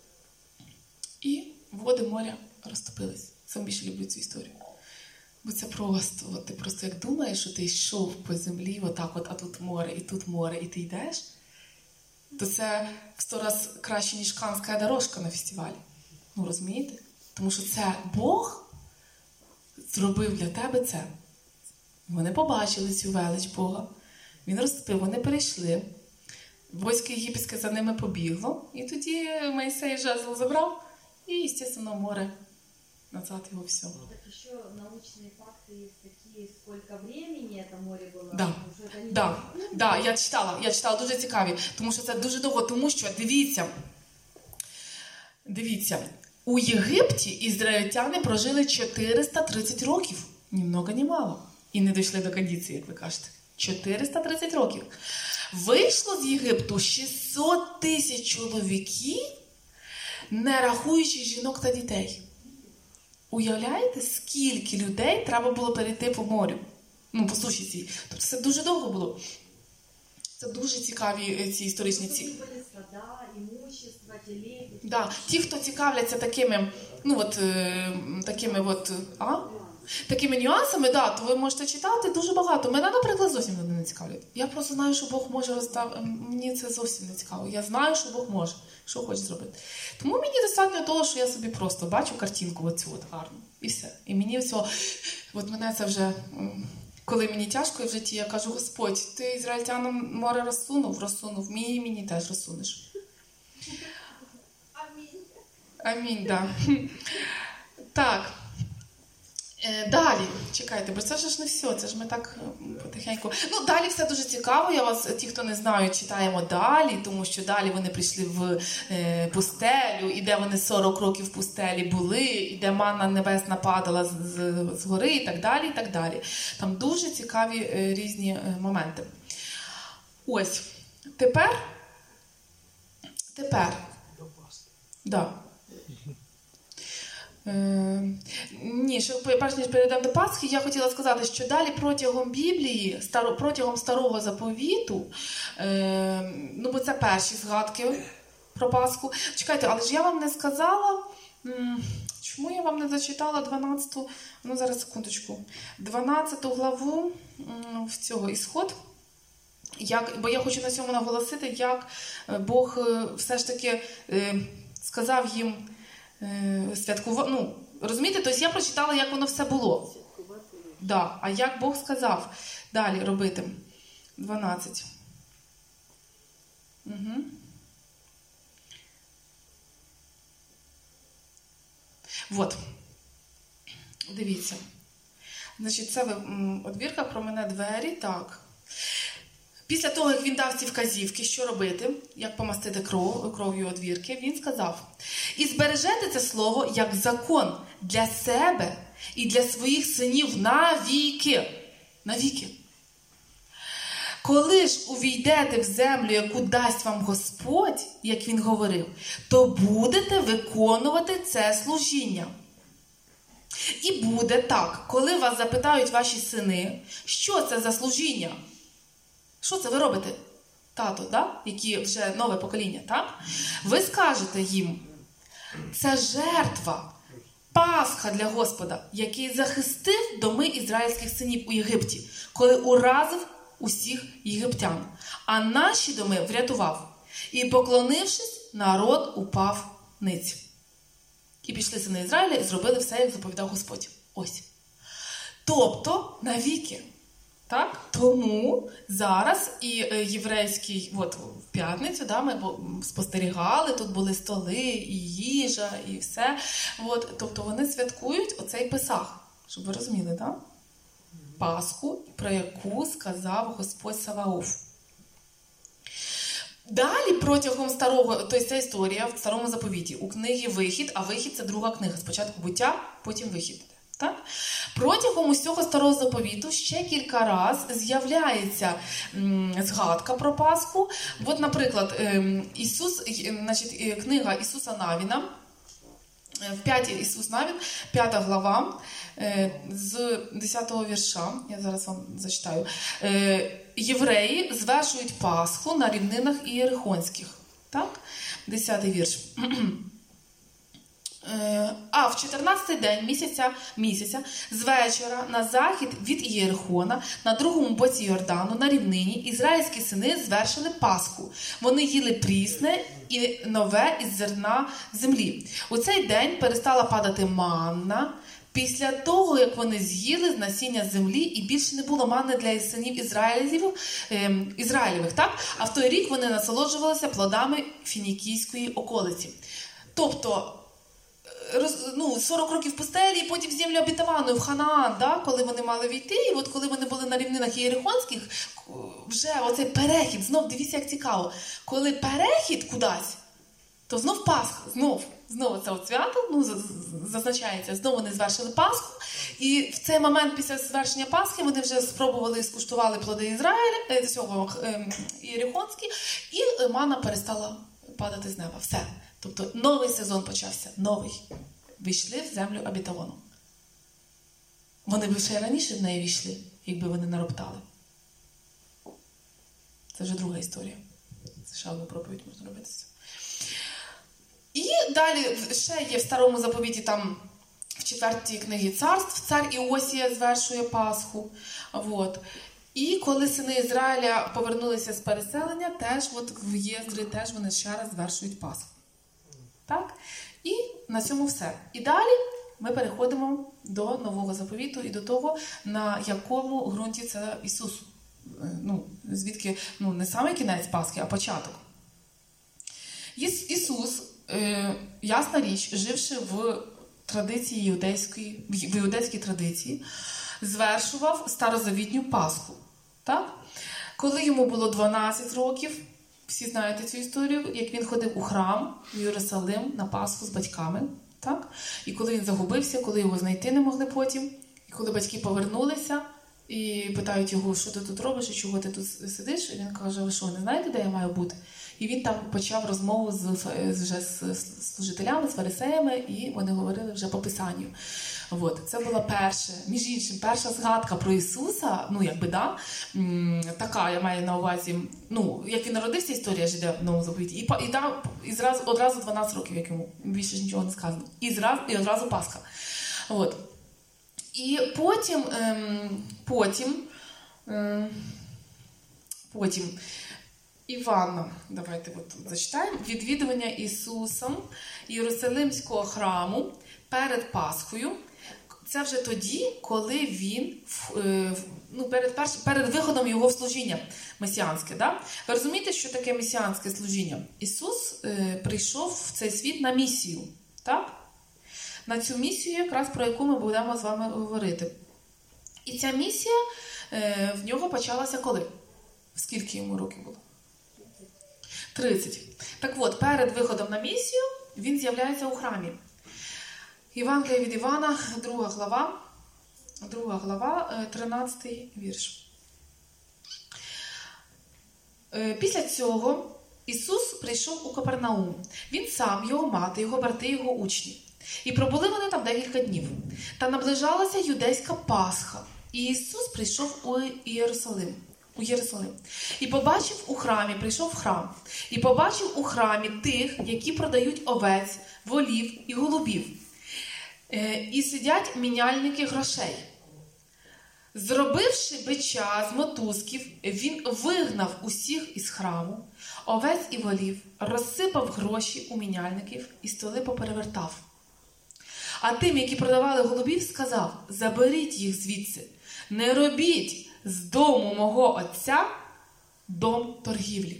і води моря розтопились. Сам більше люблю цю історію. Бо це просто, от ти просто як думаєш, що ти йшов по землі, отак от, а тут море, і тут море, і ти йдеш, то це в сто раз краще, ніж Канська дорожка на фестивалі. Ну, розумієте? Тому що це Бог зробив для тебе це. Вони побачили цю велич Бога. Він розтопив, вони перейшли. Військо єгипетське за ними побігло. І тоді Мойсей жезл забрав. І, звісно, море. Назад його все. Так еще научные факты есть такие, сколько времени это море было. Да. Да, да, я читала, я читала, дуже цікаві. Тому що це дуже довго, тому що, дивіться, дивіться, у Єгипті ізраїльтяни прожили чотириста тридцять років. Ні много, ні мало. І не дійшли до кондиції, як ви кажете. чотириста тридцять років. Вийшло з Єгипту шістсот тисяч чоловіків, не рахуючи жінок та дітей. Уявляєте, скільки людей треба було перейти по морю? Ну, по суші цій. Тобто це дуже довго було. Це дуже цікаві ці історичні ці. Були стада, имущество, телеги. Да, ті, хто цікавляться такими, ну от, е, такими от, а? Такими нюансами, да, то ви можете читати дуже багато. Мене, наприклад, зовсім вони не цікавлять. Я просто знаю, що Бог може розставити. Мені це зовсім не цікаво. Я знаю, що Бог може, що хоче зробити. Тому мені достатньо того, що я собі просто бачу картинку оцю от гарну. І все. І мені все, от мене це вже, коли мені тяжко в житті, я кажу: Господь, ти ізраїльтянам море розсунув, розсунув, мені, мені теж розсунеш. Амінь. Амінь, да. Так. Е, далі, чекайте, бо це ж не все, це ж ми так потихеньку. Ну, далі все дуже цікаво, я вас, ті, хто не знають, читаємо далі, тому що далі вони прийшли в е, пустелю, і де вони сорок років в пустелі були, і де манна небесна падала з, з, з гори, і так далі, і так далі. Там дуже цікаві е, різні е, моменти. Ось, тепер, тепер, да. Е, ні, що перш ніж перейдемо до Пасхи, я хотіла сказати, що далі протягом Біблії, старо, протягом Старого Заповіту, е, ну бо це перші згадки про Пасху. Чекайте, але ж я вам не сказала, м, чому я вам не зачитала дванадцяту, ну зараз секундочку, дванадцяту главу м, в цього Ісход, як, бо я хочу на цьому наголосити, як е, Бог е, все ж таки е, сказав їм е, святкувати, ну, розумієте, тобто я прочитала, як воно все було. Да. А як Бог сказав далі робити? дванадцять. Угу. Вот. Дивіться. Значить, це одвірка про мене двері, так. Після того, як він дав ці вказівки, що робити, як помастити кров, кров'ю одвірки, він сказав: «І збережете це слово як закон для себе і для своїх синів навіки». Навіки. «Коли ж увійдете в землю, яку дасть вам Господь, як він говорив, то будете виконувати це служіння. І буде так, коли вас запитають ваші сини, що це за служіння? Що це ви робите, тато, да? Які вже нове покоління, так? Ви скажете їм, це жертва, Пасха для Господа, який захистив доми ізраїльських синів у Єгипті, коли уразив усіх єгиптян, а наші доми врятував. І, поклонившись, народ упав ниць. І пішли сини Ізраїля і зробили все, як заповідав Господь. Ось. Тобто, навіки. Так? Тому зараз і єврейський, от в п'ятницю, да, ми спостерігали, тут були столи, і їжа, і все. От, тобто вони святкують оцей Песах, щоб ви розуміли, так? Пасху, про яку сказав Господь Саваоф. Далі протягом старого, тобто ця історія в старому заповіті, у книгі Вихід, а Вихід – це друга книга, спочатку Буття, потім Вихід. Так? Протягом усього старого заповіту ще кілька разів з'являється м, згадка про Пасху. От, наприклад, ем, Ісус, значить, книга Ісуса Навіна, в п'ятій Ісус Навін, п'ята глава, е, з десятого вірша, я зараз вам зачитаю. Е, Євреї звершують Пасху на рівнинах Ієрихонських. Так? Десятий вірш. А в чотирнадцятий день місяця, місяця з вечора на захід від Ієрихона, на другому боці Йордану, на рівнині, ізраїльські сини звершили Пасху. Вони їли прісне і нове із зерна землі. У цей день перестала падати манна після того, як вони з'їли з насіння землі, і більше не було манни для синів Ізраїлів, е, Ізраїлевих. Так? А в той рік вони насолоджувалися плодами фінікійської околиці. Тобто, Роз, ну, сорок років в пустелі, і потім в землю обітовану, в Ханаан, да, коли вони мали війти, і от коли вони були на рівнинах Ієрихонських, вже оцей перехід, знов, дивіться, як цікаво, коли перехід кудись, то знов Пасха, знов, знов це от свято, ну, зазначається, знову вони звершили Пасху, і в цей момент після звершення Пасхи вони вже спробували і скуштували плоди Ізраїля, цього Ієрихонські, і манна перестала падати з неба. Все. Тобто новий сезон почався, новий. Війшли в землю обітовану. Вони б ще раніше в неї війшли, якби вони нароптали. Це вже друга історія. Це ще одну проповідь можна робити. І далі ще є в старому заповіті, там в четвертій книгі царств, цар Іосія звершує Пасху. Вот. І коли сини Ізраїля повернулися з переселення, теж от в Єздри теж вони ще раз звершують Пасху. Так? І на цьому все. І далі ми переходимо до Нового заповіту і до того, на якому ґрунті це Ісус. Ну, звідки, ну, не саме кінець Пасхи, а початок. Іс, Ісус, е, ясна річ, живши в традиції іудейської, в іудейській традиції, звершував старозавітню Пасху. Так? Коли йому було дванадцять років, всі знаєте цю історію, як він ходив у храм в Єрусалим на Пасху з батьками. Так? І коли він загубився, коли його знайти не могли потім, і коли батьки повернулися і питають його, що ти тут робиш і чого ти тут сидиш, і він каже, ви що, не знаєте, де я маю бути? І він там почав розмову з, вже з служителями, з фарисеями, і вони говорили вже по Писанню. От, це була перша, між іншим, перша згадка про Ісуса, ну, якби, да, м, така, я маю на увазі, ну, як він народився, історія ж йде в Новому Заповіті, і, па- і там і зразу, одразу дванадцять років, як йому, більше ж нічого не сказано, і, зразу, і одразу Пасха. От. І потім, ем, потім, ем, потім, Івана, давайте от зачитаємо, відвідування Ісусом Єрусалимського храму перед Пасхою. Це вже тоді, коли він, е, ну, перед, перш, перед виходом його в служіння месіанське. Да? Ви розумієте, що таке месіанське служіння? Ісус е, прийшов в цей світ на місію. Так? На цю місію, якраз про яку ми будемо з вами говорити. І ця місія е, в нього почалася коли? Скільки йому років було? тридцять. Так от, перед виходом на місію він з'являється у храмі. Євангелія від Івана, друга глава, друга глава, тринадцятий вірш. Після цього Ісус прийшов у Капернаум. Він сам, його мати, його брати, його учні. І пробули вони там декілька днів. Та наближалася юдейська Пасха. І Ісус прийшов у Єрусалим. У Єрусалим. І побачив у храмі, прийшов в храм, і побачив у храмі тих, які продають овець, волів і голубів. Е, і сидять міняльники грошей. Зробивши бича з мотузків, він вигнав усіх із храму, овець і волів, розсипав гроші у міняльників і столи поперевертав. А тим, які продавали голубів, сказав: заберіть їх звідси, не робіть з дому мого отця дом торгівлі.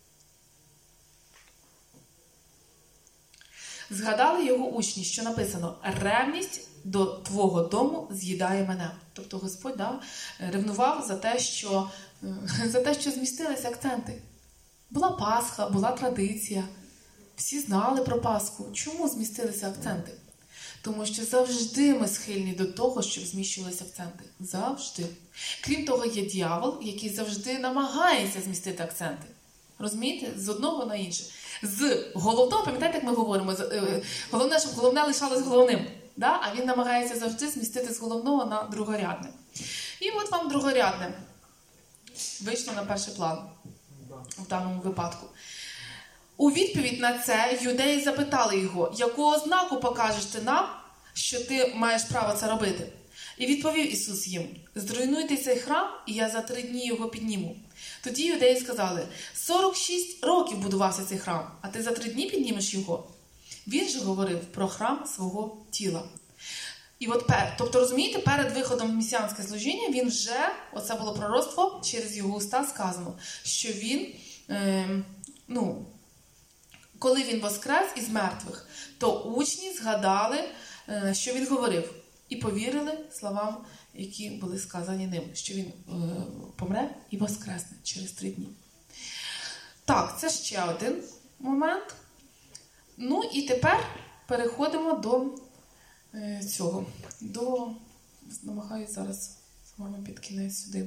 Згадали його учні, що написано: ревність до твого дому з'їдає мене. Тобто Господь, да, ревнував за те, що, за те, що змістилися акценти. Була Пасха, була традиція. Всі знали про Пасху. Чому змістилися акценти? Тому що завжди ми схильні до того, щоб зміщувалися акценти. Завжди. Крім того, є дьявол, який завжди намагається змістити акценти. Розумієте? З одного на інше. З головного, пам'ятаєте, як ми говоримо, головне, щоб головне лишалось головним. Да? А він намагається завжди змістити з головного на другорядне. І от вам другорядне вийшло на перший план в даному випадку. У відповідь на це юдеї запитали його: яку ознаку покажеш ти нам, що ти маєш право це робити? І відповів Ісус їм: зруйнуйте цей храм, і я за три дні його підніму. Тоді юдеї сказали: сорок шість років будувався цей храм, а ти за три дні піднімеш його? Він же говорив про храм свого тіла. І от, тобто, розумієте, перед виходом в месіанське служіння він вже, оце було пророцтво, через його уста сказано, що він, е, ну, коли він воскрес із мертвих, то учні згадали, е, що він говорив, і повірили словам, які були сказані ним, що він е, помре і воскресне через три дні. Так, це ще один момент. Ну і тепер переходимо до е, цього. До, намагаюся зараз з вами під кінець сюди.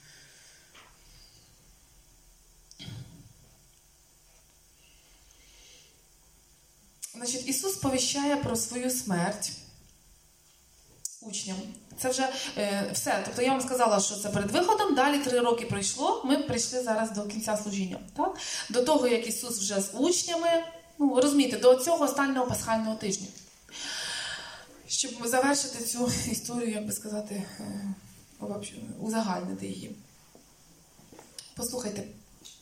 Значить, Ісус сповіщає про свою смерть учням. Це вже е, все. Тобто я вам сказала, що це перед виходом, далі три роки пройшло, ми прийшли зараз до кінця служіння. Так? До того, як Ісус вже з учнями, ну, розумієте, до цього останнього пасхального тижня. Щоб завершити цю історію, як би сказати, е, узагальнити її. Послухайте.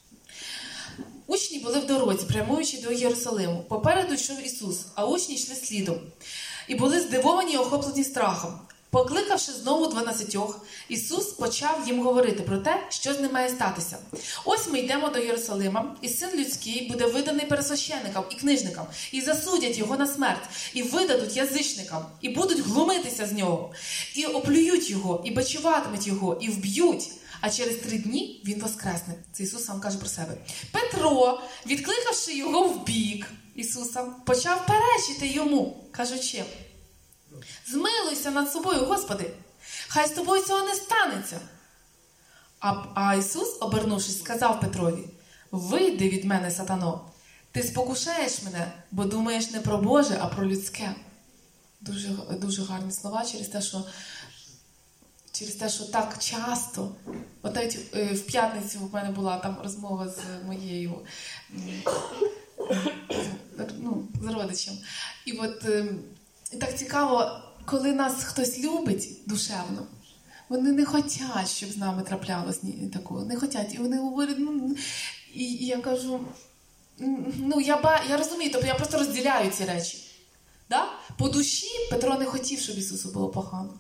Учні були в дорозі, прямуючи до Єрусалиму. Попереду йшов Ісус, а учні йшли слідом. І були здивовані і охоплені страхом. Покликавши знову дванадцятьох, Ісус почав їм говорити про те, що з ним має статися. Ось ми йдемо до Єрусалима, і Син Людський буде виданий пересвященникам і книжникам, і засудять його на смерть, і видадуть язичникам, і будуть глумитися з нього, і оплюють його, і бичуватимуть його, і вб'ють. А через три дні він воскресне. Це Ісус сам каже про себе. Петро, відкликавши його в бік Ісуса, почав перечити йому, кажучи: змилуйся над собою, Господи, хай з тобою цього не станеться. А, а Ісус, обернувшись, сказав Петрові: вийди від мене, сатано, ти спокушаєш мене, бо думаєш не про Боже, а про людське. Дуже, дуже гарні слова через те, що через те, що так часто, от навіть е, в п'ятницю в мене була там розмова з моєю м, ну, з родичем. І от е, так цікаво, коли нас хтось любить душевно, вони не хочуть, щоб з нами траплялось ні такого, не хочуть. І вони говорять, ну, і, і я кажу, ну, я, ба, я розумію, тобто я просто розділяю ці речі. Да? По душі Петро не хотів, щоб Ісусу було погано.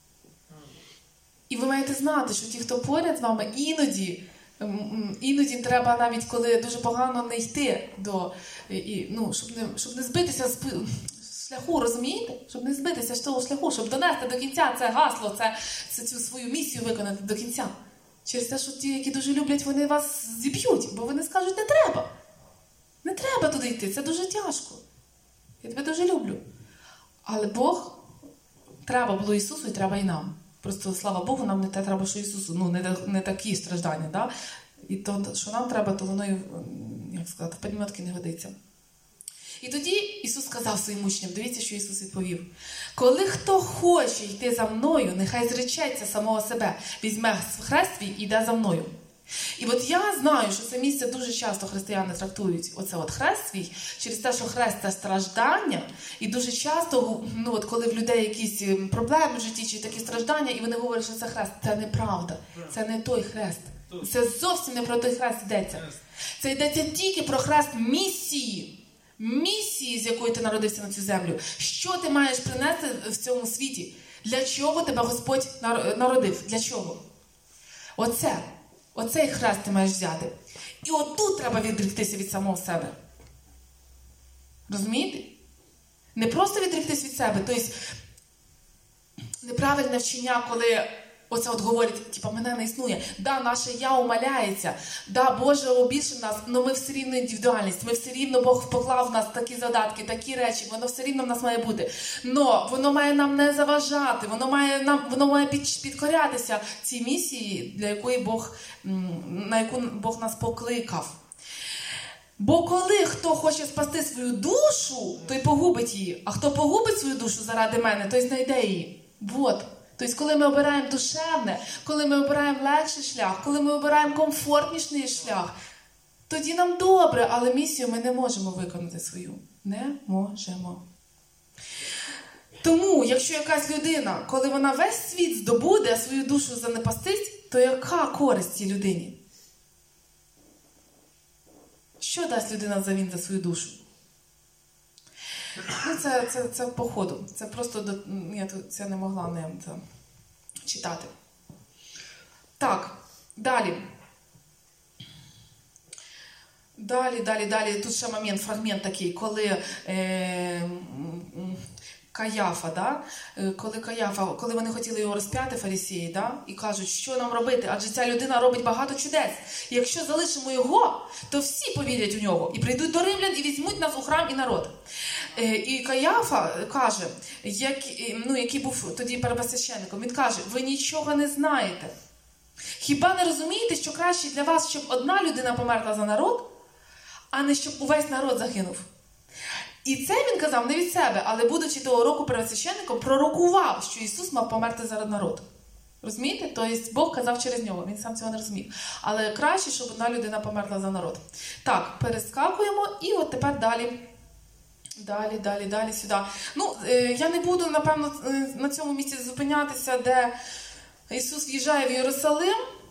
І ви маєте знати, що ті, хто поряд з вами, іноді, іноді треба навіть, коли дуже погано, не йти до, і, ну, щоб, не, щоб не збитися з шляху, розумієте? Щоб не збитися з того шляху, щоб донести до кінця це гасло, це, це цю свою місію виконати до кінця. Через те, що ті, які дуже люблять, вони вас зіб'ють, бо вони скажуть, не треба. Не треба туди йти, це дуже тяжко. Я тебе дуже люблю. Але Бог, треба було Ісусу і треба і нам. Просто, слава Богу, нам не те треба, що Ісусу. Ну, не, не такі страждання, да? І то, що нам треба, то воно, як сказати, в підметки не годиться. І тоді Ісус сказав своїм учням, дивіться, що Ісус відповів. Коли хто хоче йти за мною, нехай зречеться самого себе, візьме хрест свій і йде за мною. І от я знаю, що це місце дуже часто християни трактують, оце от хрест свій, через те, що хрест – це страждання, і дуже часто, ну от коли в людей якісь проблеми в житті, чи такі страждання, і вони говорять, що це хрест, це неправда, це не той хрест. Це зовсім не про той хрест йдеться. Це йдеться тільки про хрест місії. Місії, з якої ти народився на цю землю. Що ти маєш принести в цьому світі? Для чого тебе Господь народив? Для чого? Оце. Оцей хрест ти маєш взяти. І отут треба відріктися від самого себе. Розумієте? Не просто відріктись від себе. Тобто, неправильне вчення, коли оце от говорять, типа, мене не існує. Да, наше я умаляється. Да, Боже більше в нас, але ми все рівно індивідуальність. Ми все рівно, Бог поклав в нас такі задатки, такі речі. Воно все рівно в нас має бути. Но воно має нам не заважати. Воно має, нам, воно має під, підкорятися цій місії, для якої Бог, на яку Бог нас покликав. Бо коли хто хоче спасти свою душу, той погубить її. А хто погубить свою душу заради мене, той знайде її. Вот. Тобто, коли ми обираємо душевне, коли ми обираємо легший шлях, коли ми обираємо комфортніший шлях, тоді нам добре, але місію ми не можемо виконати свою. Не можемо. Тому, якщо якась людина, коли вона весь світ здобуде, а свою душу занепастить, то яка користь цій людині? Що дасть людина взамін за свою душу? Ну, це, це, це по ходу. Це просто, до... я тут це не могла не це, читати. Так, далі. Далі, далі, далі. Тут ще момент, фрагмент такий, коли е, Каяфа, да? коли Каяфа, коли вони хотіли його розп'яти, фарисеї, да? І кажуть, що нам робити, адже ця людина робить багато чудес. І якщо залишимо його, то всі повірять у нього, і прийдуть до римлян, і візьмуть нас у храм і народ. І Каяфа каже, як, ну, який був тоді первосвященником, він каже, ви нічого не знаєте. Хіба не розумієте, що краще для вас, щоб одна людина померла за народ, а не щоб увесь народ загинув? І це він казав не від себе, але будучи того року первосвященником, пророкував, що Ісус мав померти заради народу. Розумієте? Тобто Бог казав через нього, він сам цього не розумів. Але краще, щоб одна людина померла за народ. Так, перескакуємо і от тепер далі. Далі, далі, далі, сюди. Ну, е, я не буду, напевно, на цьому місці зупинятися, де Ісус в'їжджає в Єрусалим.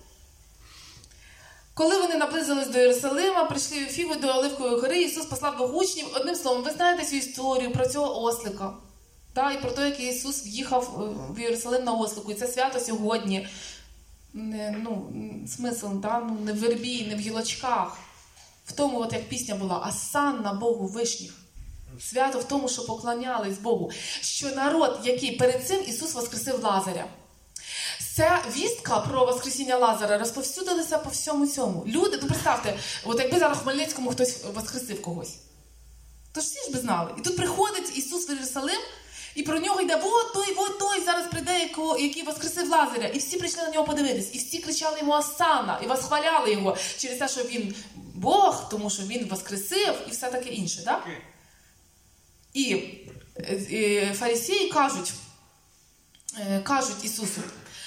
Коли вони наблизились до Єрусалима, прийшли в Фіву до Оливкової гори, Ісус послав двох учнів. Одним словом, ви знаєте цю історію про цього ослика. Да, і про те, як Ісус в'їхав в Єрусалим на ослику. І це свято сьогодні. Не, ну, смисл, да? Ну, не в вербі, не в гілочках. В тому, от як пісня була, «Асанна Богу вишніх». Свято в тому, що поклонялись Богу. Що народ, який перед цим Ісус воскресив Лазаря. Ця вістка про воскресіння Лазаря розповсюдилася по всьому цьому. Люди, ну представте, от якби зараз в Хмельницькому хтось воскресив когось. То ж всі ж би знали. І тут приходить Ісус в Єрусалим, і про нього йде, вот той, вот той, зараз прийде, який воскресив Лазаря. І всі прийшли на нього подивитись. І всі кричали йому «Асанна», і восхваляли його через те, що він Бог, тому що він воскресив, і все таке інше, так? І е, фарисеї кажуть, е, кажуть Ісусу,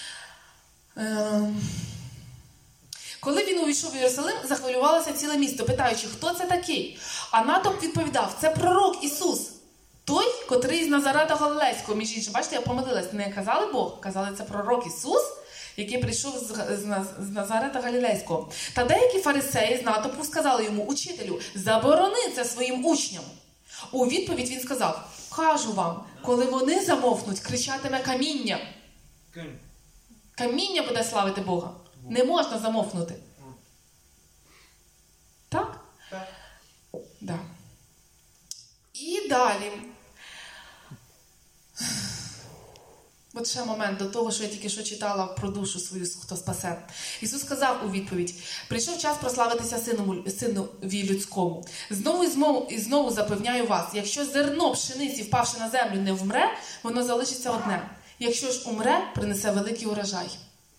е, коли він увійшов в Єрусалим, захвилювалося ціле місто, питаючи, хто це такий? А натовп відповідав, це пророк Ісус, той, котрий з Назарета Галилейського. Між іншим, бачите, я помилилась, не казали Бог, казали, це пророк Ісус, який прийшов з, з, з Назарета Галілейського. Та деякі фарисеї з натовпу сказали йому, учителю, заборони це своїм учням. У відповідь він сказав, кажу вам, коли вони замовкнуть, кричатиме каміння. Каміння буде славити Бога. Не можна замовкнути. Так? Так. Да. І далі. От ще момент до того, що я тільки що читала про душу свою, хто спасе. Ісус сказав у відповідь, прийшов час прославитися сину, синові людському. Знову і знову, і знову запевняю вас, якщо зерно пшениці, впавши на землю, не вмре, воно залишиться одне. Якщо ж умре, принесе великий урожай.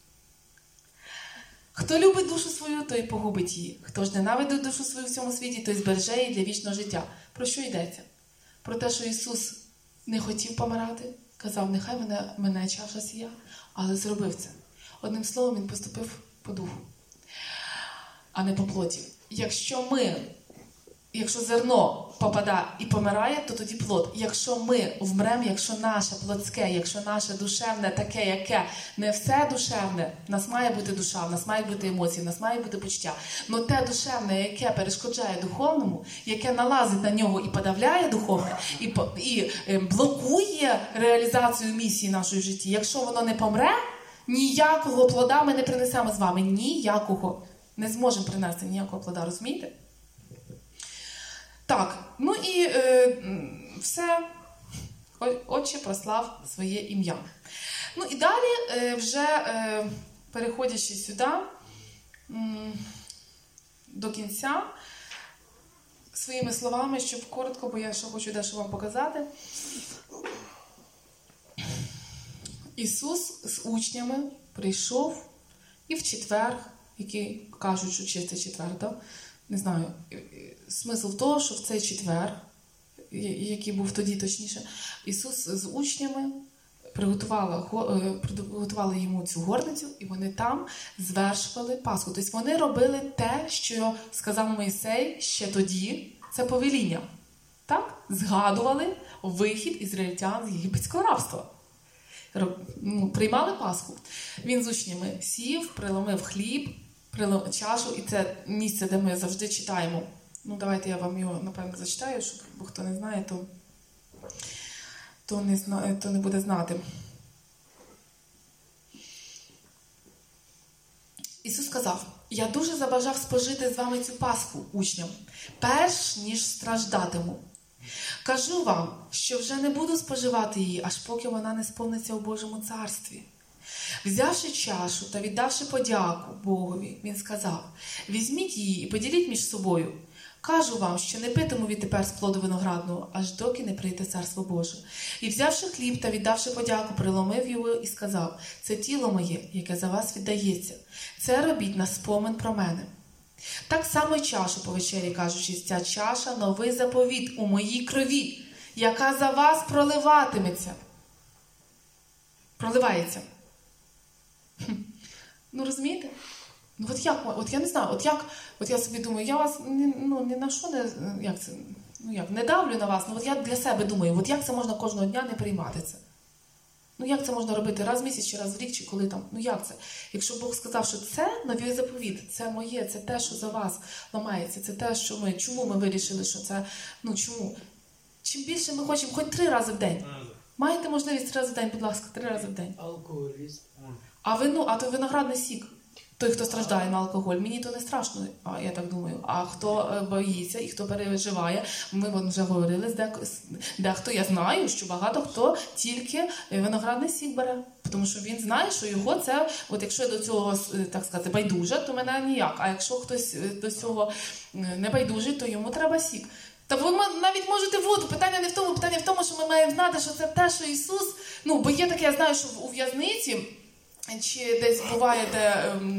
Хто любить душу свою, той погубить її. Хто ж ненавидить душу свою в цьому світі, той збереже її для вічного життя. Про що йдеться? Про те, що Ісус не хотів помирати, казав, нехай мене, мене чаша сія, але зробив це. Одним словом, Він поступив по духу, а не по плоті. Якщо ми, якщо зерно попадає і помирає, то тоді плод. Якщо ми вмремо, якщо наше плотське, якщо наше душевне таке, яке не все душевне, в нас має бути душа, в нас мають бути емоції, в нас має бути почуття. Но те душевне, яке перешкоджає духовному, яке налазить на нього і подавляє духовне, і, і блокує реалізацію місії нашої в житті, якщо воно не помре, ніякого плода ми не принесемо з вами. Ніякого. Не зможемо принести ніякого плода, розумієте? Так, ну і е, все, Отче прослав своє ім'я. Ну і далі, е, вже е, переходячи сюди, м, до кінця, своїми словами, щоб коротко, бо я ще хочу дещо вам показати. Ісус з учнями прийшов і в четвер, який кажуть, що чистий четвер, да? Не знаю, смисл того, що в цей четвер, який був тоді точніше, Ісус з учнями приготували, приготували йому цю горницю, і вони там звершували Пасху. Тобто вони робили те, що сказав Мойсей ще тоді, це повеління. Так? Згадували вихід ізраїльтян з єгипетського рабства. Ну, приймали Пасху. Він з учнями сів, приломив хліб, приломив чашу, і це місце, де ми завжди читаємо. Ну, давайте я вам його, напевно, зачитаю, щоб, бо хто не знає, то, то, не, зна, то не буде знати. Ісус сказав, я дуже забажав спожити з вами цю Пасху, учням, перш ніж страждатиму. Кажу вам, що вже не буду споживати її, аж поки вона не сповниться у Божому царстві. Взявши чашу та віддавши подяку Богові, він сказав, візьміть її і поділіть між собою. Кажу вам, що не питиму відтепер з плоду виноградного, аж доки не прийде Царство Боже. І взявши хліб та віддавши подяку, приломив його і сказав, це тіло моє, яке за вас віддається. Це робіть на спомин про мене. Так само й чашу по вечері, кажучи, ця чаша – новий заповіт у моїй крові, яка за вас проливатиметься. Проливається. Хм. Ну, розумієте? Ну, от як, от я не знаю, от як, от я собі думаю, я вас ні, ну, ні на що не, як це, ну як, не давлю на вас, ну от я для себе думаю, от як це можна кожного дня не приймати це? Ну, як це можна робити раз в місяць, чи раз в рік, чи коли там, ну як це? Якщо Бог сказав, що це новий заповіт, це моє, це те, що за вас ламається, це те, що ми, чому ми вирішили, що це, ну чому? Чим більше ми хочемо, хоч три рази в день. Маєте можливість три рази в день, будь ласка, три рази в день. Алкоголіст. А вину, а то виноградний сік. Той, хто страждає на алкоголь, мені то не страшно, а я так думаю. А хто боїться і хто переживає, ми вже говорили, дехто, я знаю, що багато хто тільки виноградний сік бере. Тому що він знає, що його це, от якщо я до цього, так сказати, байдужа, то мене ніяк. А якщо хтось до цього не байдужий, то йому треба сік. Та ви навіть можете воду. Питання не в тому, питання в тому, що ми маємо знати, що це те, що Ісус, ну, бо є таке, я знаю, що у в'язниці, чи десь буває, де,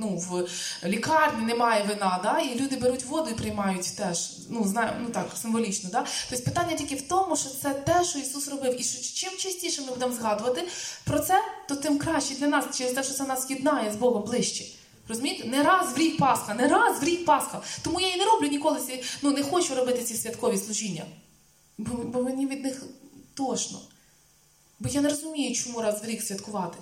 ну, в лікарні немає вина, да? І люди беруть воду і приймають теж, ну, знаю, ну так, символічно. Да? Тобто питання тільки в тому, що це те, що Ісус робив. І що чим частіше ми будемо згадувати про це, то тим краще для нас, через те, що це нас єднає з Богом ближче. Розумієте? Не раз в рік Пасха, не раз в рік Пасха. Тому я і не роблю ніколи, ці, ну, не хочу робити ці святкові служіння. Бо, бо мені від них тошно. Бо я не розумію, чому раз в рік святкувати.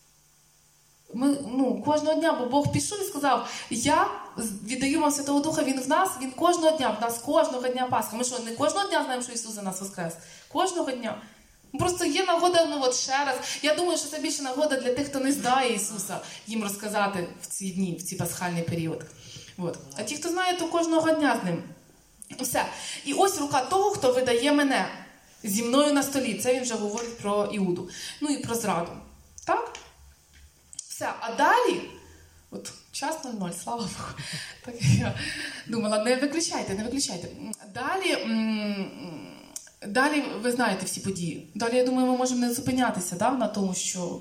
Ми, ну, кожного дня, бо Бог пішов і сказав, я віддаю вам Святого Духа, Він в нас, Він кожного дня, в нас кожного дня Пасха. Ми що, не кожного дня знаємо, що Ісус за нас воскрес? Кожного дня. Просто є нагода, ну от ще раз. Я думаю, що це більше нагода для тих, хто не знає Ісуса, їм розказати в ці дні, в цей пасхальний період. От. А ті, хто знає, то кожного дня з ним. Все. І ось рука того, хто видає мене зі мною на столі. Це він вже говорить про Іуду. Ну і про зраду. Так? Все. А далі, от час нуль нуль, слава Богу. Так я думала, не виключайте, не виключайте. Далі, м- далі ви знаєте всі події. Далі, я думаю, ми можемо не зупинятися, да, на тому, що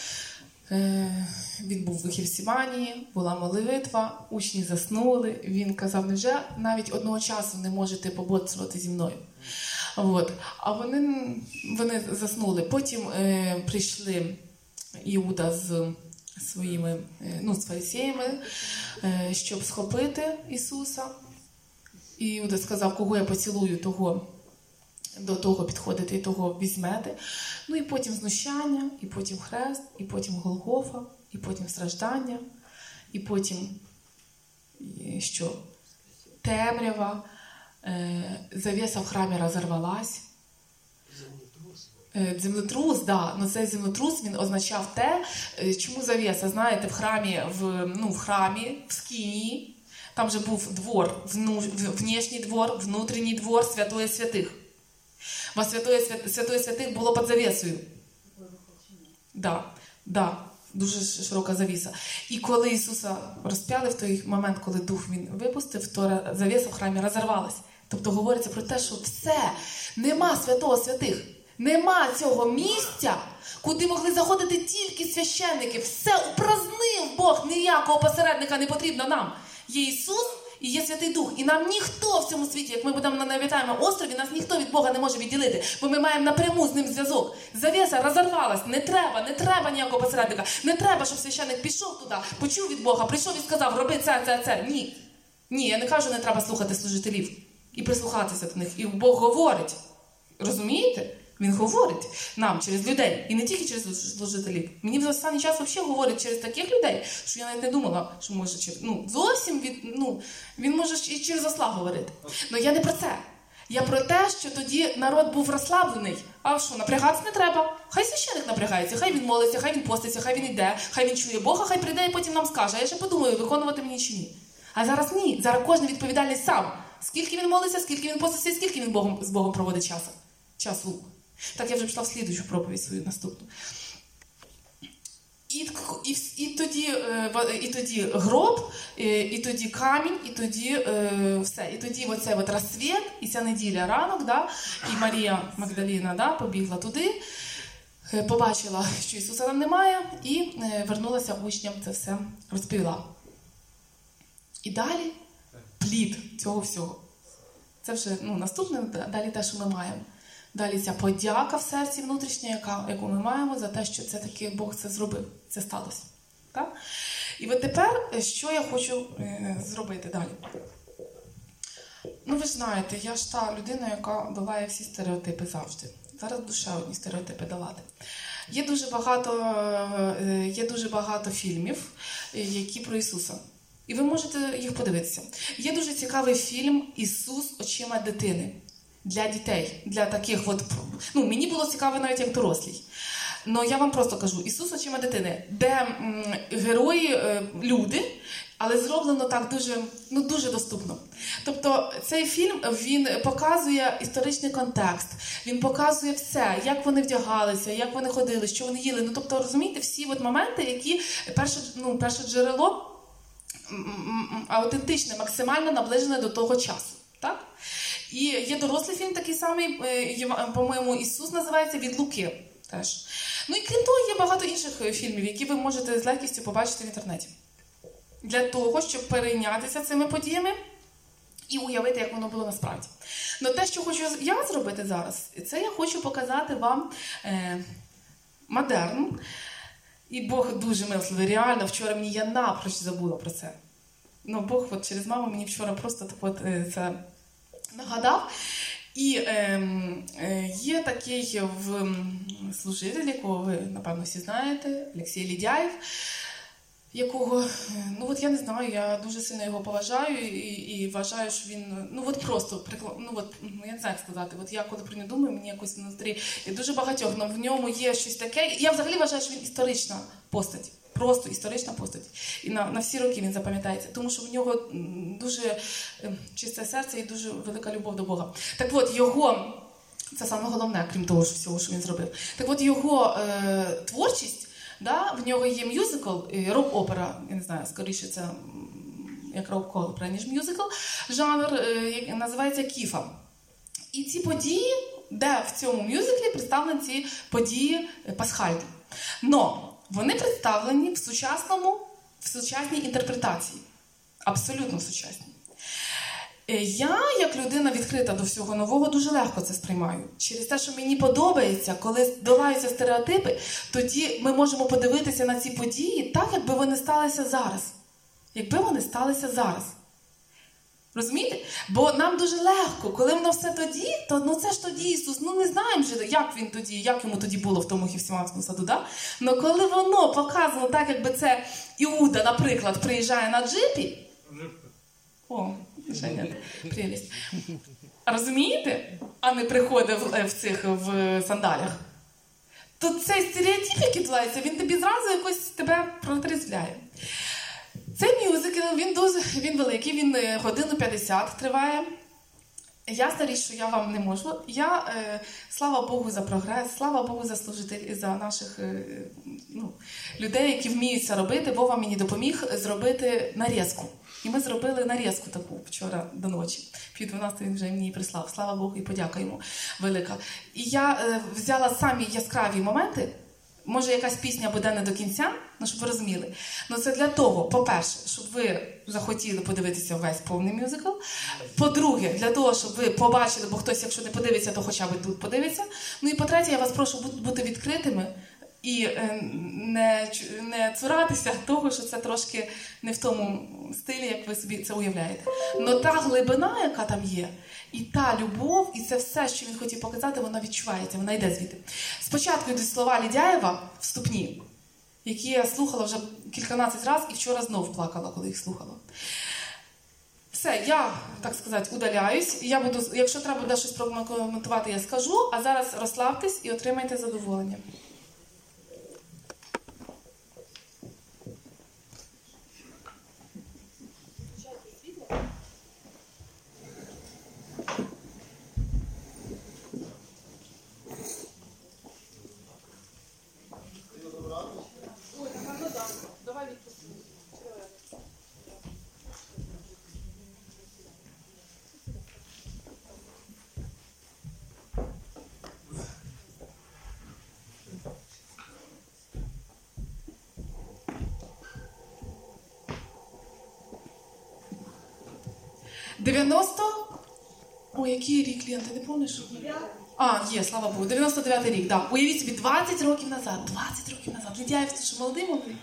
е- він був в Гефсиманії, була молитва, учні заснули. Він казав, невже навіть одного часу не можете пободрствувати зі мною? От. А вони, вони заснули. Потім е, прийшли Іуда з своїми, е, ну, з фарисеями, е, щоб схопити Ісуса. І Іуда сказав, кого я поцілую, того до того підходите і того візьмете. Ну і потім знущання, і потім хрест, і потім Голгофа, і потім страждання, і потім що? Темрява, е, завіса в храмі розірвалась. Землетрус. Землетрус, да. Ну цей землетрус, він означав те, чому завіса, знаєте, в храмі, в, ну, в храмі, в скинії, там же був двор, вну, внешній двор, внутрішній двор, святої святих. Во святої, святої святих було під завісою. Да, да, дуже широка завіса. І коли Ісуса розп'яли в той момент, коли Дух Він випустив, то завіса в храмі розірвалась. Тобто говориться про те, що все, нема святого святих, нема цього місця, куди могли заходити тільки священники. Все упразнив Бог, ніякого посередника не потрібно нам. Є Ісус і є Святий Дух. І нам ніхто в цьому світі, як ми будемо на необітаємому острові, нас ніхто від Бога не може відділити, бо ми маємо напряму з ним зв'язок. Завіса розірвалась, не треба, не треба ніякого посередника. Не треба, щоб священник пішов туди, почув від Бога, прийшов і сказав, роби це, це, це. Ні. Ні, я не кажу, не треба слухати служителів і прислухатися до них. І Бог говорить. Розумієте? Він говорить нам через людей. І не тільки через служителів. Мені в останній час взагалі говорить через таких людей, що я навіть не думала, що може через... Ну, зовсім від... ну, він може і через осла говорити. Але я не про це. Я про те, що тоді народ був розслаблений. А що, напрягатися не треба? Хай священик напрягається, хай він молиться, хай він поститься, хай він йде, хай він чує Бога, хай прийде і потім нам скаже. А я ще подумаю, виконувати мені чи ні. А зараз ні. Зараз кожен відповідальний сам. Скільки він молиться, скільки він поститься, скільки він Богом, з Богом проводить часу. Часу. Так, я вже пішла в слідуючу проповідь свою наступну. І, і, і, тоді, і тоді гроб, і тоді камінь, і тоді все. І тоді оцей от розсвіт, і ця неділя ранок, да, і Марія Магдаліна, да, побігла туди, побачила, що Ісуса там немає, і вернулася учням, це все розповіла. І далі плід цього всього. Це вже, ну, наступне, далі те, що ми маємо. Далі ця подяка в серці внутрішня, яка, яку ми маємо за те, що це таки Бог це зробив, це сталося. Так? І от тепер, що я хочу е, зробити далі? Ну, ви ж знаєте, я ж та людина, яка долає всі стереотипи завжди. Зараз душа одні стереотипи долати. Є дуже багато, е, є дуже багато фільмів, які про Ісуса. І ви можете їх подивитися. Є дуже цікавий фільм «Ісус очима дитини». Для дітей, для таких от... Ну, мені було цікаво навіть як дорослій. Но я вам просто кажу, Ісус очима дитини, де м, герої е, люди, але зроблено так дуже, ну, дуже доступно. Тобто цей фільм, він показує історичний контекст, він показує все, як вони вдягалися, як вони ходили, що вони їли. Ну, тобто, розумієте, всі от моменти, які перше, ну, перше джерело аутентичне, максимально наближене до того часу. Так? І є дорослий фільм такий самий, по-моєму, «Ісус» називається, від Луки теж. Ну і крім того, є багато інших фільмів, які ви можете з легкістю побачити в інтернеті. для того, щоб перейнятися цими подіями і уявити, як воно було насправді. Но те, що хочу я зробити зараз, це я хочу показати вам е, модерн. І Бог дуже милостивий. Реально, вчора мені я напроч забула про це. Ну, Бог от через маму мені вчора просто так от е, це нагадав. І е, е, є такий в служитель, якого ви, напевно, всі знаєте, Олексій Лідяєв, якого, ну от я не знаю, я дуже сильно його поважаю і, і вважаю, що він, ну от просто, ну от, ну я не знаю, як сказати, от я коли про нього думаю, мені якось внутрі, і дуже багатьох, але в ньому є щось таке, я взагалі вважаю, що він історична постать, просто історична постать, і на, на всі роки він запам'ятається, тому що в нього дуже чисте серце і дуже велика любов до Бога. Так от, його, це саме головне, крім того, що всього, що він зробив, так от його е, творчість, да, в нього є мюзикл, рок-опера, я не знаю, скоріше це як рок-опера, ніж мюзикл, жанр, який називається «Кіфа». І ці події, де в цьому мюзиклі представлені ці події пасхальні. Но вони представлені в сучасному, в сучасній інтерпретації. Абсолютно сучасній. Я, як людина відкрита до всього нового, дуже легко це сприймаю. Через те, що мені подобається, коли долаються стереотипи, тоді ми можемо подивитися на ці події так, якби вони сталися зараз. Якби вони сталися зараз. Розумієте? Бо нам дуже легко, коли воно все тоді, то ну це ж тоді Ісус, ну не знаємо же, як він тоді, як йому тоді було в тому Гефсиманському саду, да? Но коли воно показано так, якби це Іуда, наприклад, приїжджає на джипі, о, Женя, прелість. Розумієте? А не приходить в, в цих в сандалях. То цей стереотип, який твориться, він тобі зразу якось тебе протрезвляє. Цей мюзикл, він дуже він великий, він годину п'ятдесят триває. Ясна річ, що я вам не можу. Я, е, слава Богу за прогрес, слава Богу за служителів, за наших е, ну, людей, які вміють це робити. Вова мені допоміг зробити нарізку. І ми зробили нарізку таку вчора до ночі. Пів дванадцятої він вже мені прислав. Слава Богу і подяка йому велика. І я е, взяла самі яскраві моменти. Може, якась пісня буде не до кінця, ну, щоб ви розуміли. Ну, це для того, по-перше, щоб ви захотіли подивитися весь повний мюзикл. По-друге, для того, щоб ви побачили, бо хтось, якщо не подивиться, то хоча б тут подивиться. Ну і по-третє, я вас прошу бути відкритими і не, не цуратися того, що це трошки не в тому стилі, як ви собі це уявляєте. Но та глибина, яка там є, і та любов, і це все, що він хотів показати, вона відчувається, вона йде звідти. Спочатку йдуть слова Лідяєва вступні, які я слухала вже кільканадцять разів і вчора знов плакала, коли їх слухала. Все, я, так сказати, удаляюсь. Я буду, якщо треба буде щось прокоментувати, я скажу, а зараз розслабтесь і отримайте задоволення. дев'яносто... Ой, який рік, Лен, ти не пам'ятаєш? А, є, слава Богу, дев'яносто дев'ятий рік, так. Да. Уявіть собі, двадцять років назад, двадцять років назад. Лідяєв, ти що, молодий молодий?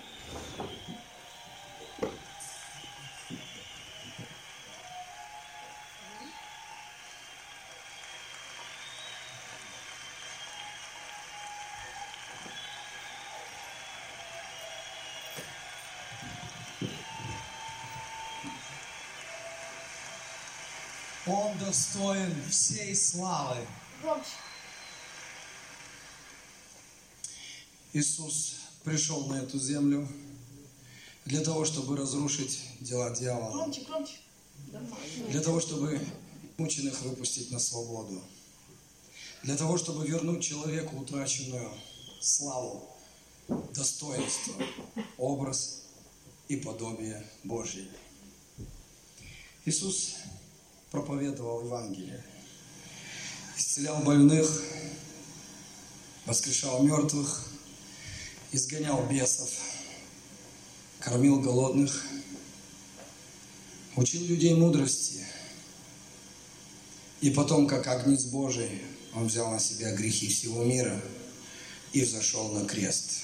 Он достоин всей славы. Громче. Иисус пришел на эту землю для того, чтобы разрушить дела дьявола. Громче, громче. Для того, чтобы мученых выпустить на свободу. Для того, чтобы вернуть человеку утраченную славу, достоинство, образ и подобие Божье. Иисус проповедовал Евангелие, исцелял больных, воскрешал мертвых, изгонял бесов, кормил голодных учил людей мудрости. И потом, как Агнец Божий, Он взял на себя грехи всего мира и взошел на крест.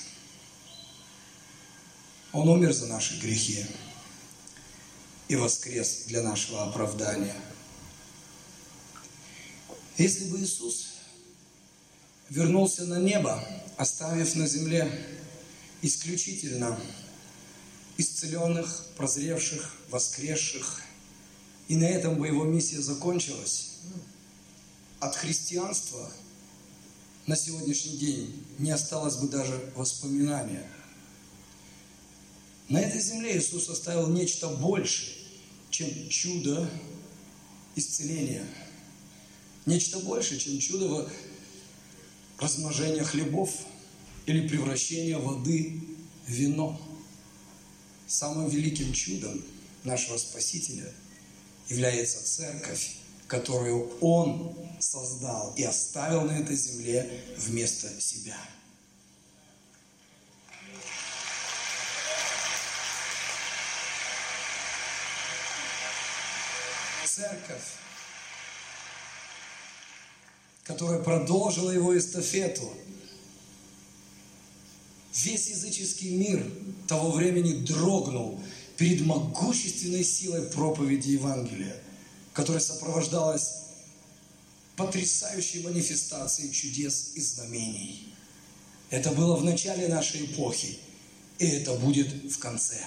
Он умер за наши грехи и воскрес для нашего оправдания. Если бы Иисус вернулся на небо, оставив на земле исключительно исцеленных, прозревших, воскресших, и на этом бы его миссия закончилась, от христианства на сегодняшний день не осталось бы даже воспоминания. На этой земле Иисус оставил нечто большее, чем чудо исцеления. Нечто большее, чем чудо размножения хлебов или превращения воды в вино. Самым великим чудом нашего Спасителя является церковь, которую Он создал и оставил на этой земле вместо себя. Церковь, которая продолжила его эстафету. Весь языческий мир того времени дрогнул перед могущественной силой проповеди Евангелия, которая сопровождалась потрясающей манифестацией чудес и знамений. Это было в начале нашей эпохи, и это будет в конце.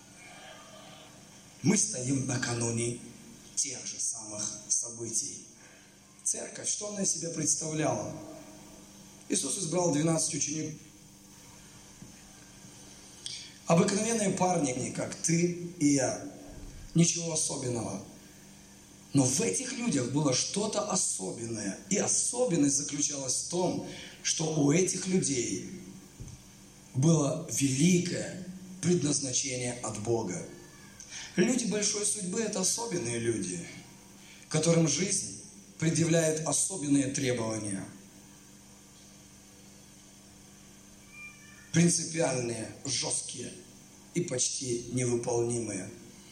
Мы стоим накануне тех же самых событий. Церковь, что она из себя представляла? Иисус избрал двенадцать учеников. Обыкновенные парни, как ты и я. Ничего особенного. Но в этих людях было что-то особенное. И особенность заключалась в том, что у этих людей было великое предназначение от Бога. Люди большой судьбы – это особенные люди, которым жизнь предъявляет особенные требования. Принципиальные, жесткие и почти невыполнимые.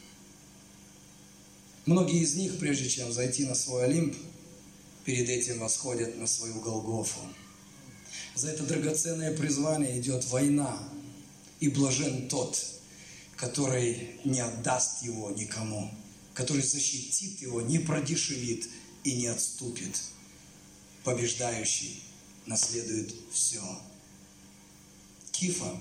Многие из них, прежде чем зайти на свой Олимп, перед этим восходят на свою Голгофу. За это драгоценное призвание идет война, и блажен тот, который не отдаст его никому, который защитит его, не продешевит и не отступит. Побеждающий наследует все. Кифа.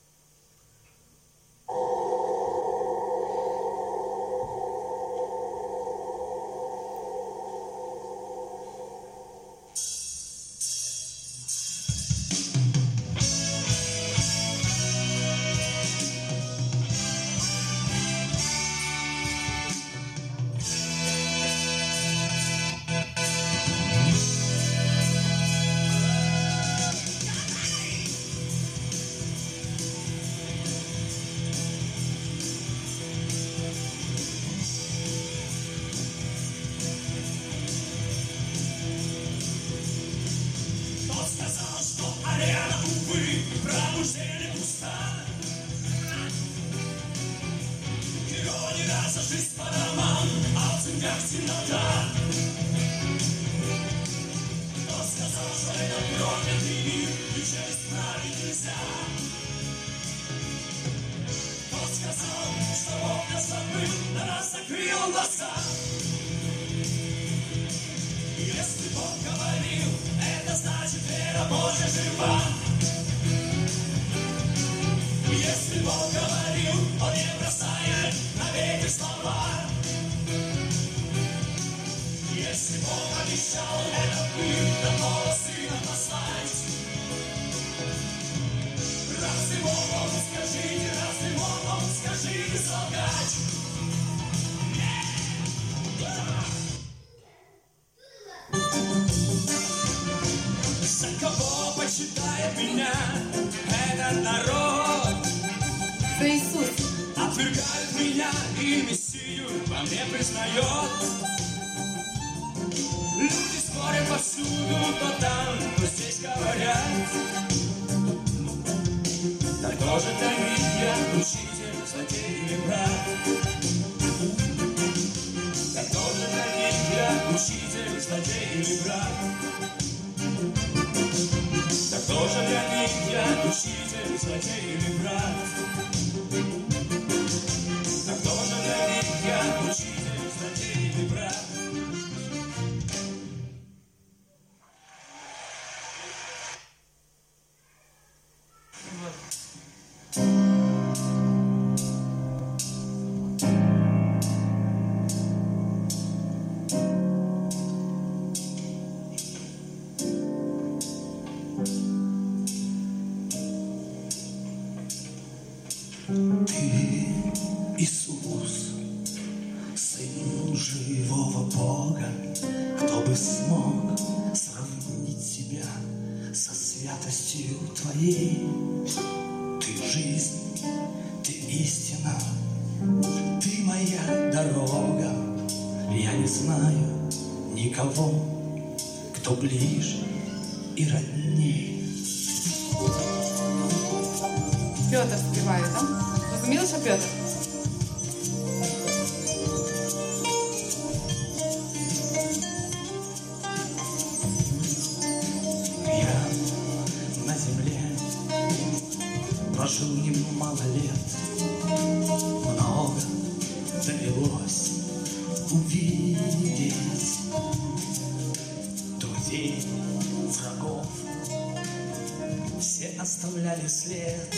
Це Ісус. Отвергают меня и Мессию во мне признает. Люди спорят повсюду, то там, то здесь говорят. Так кто же таит я, учитель, злодей или брат? злодей или брат. А кто же для них я, учитель, злодей или брат? Ты, Иисус, Сын живого Бога, кто бы смог сравнить себя со святостью Твоей? Ты жизнь, Ты истина, Ты моя дорога. Я не знаю никого, кто ближе и родней. Петр співає, так? Розуміли, що Петр? Я на земле прожил немало лет, много довелось увидеть друзей, врагов. Все оставляли след,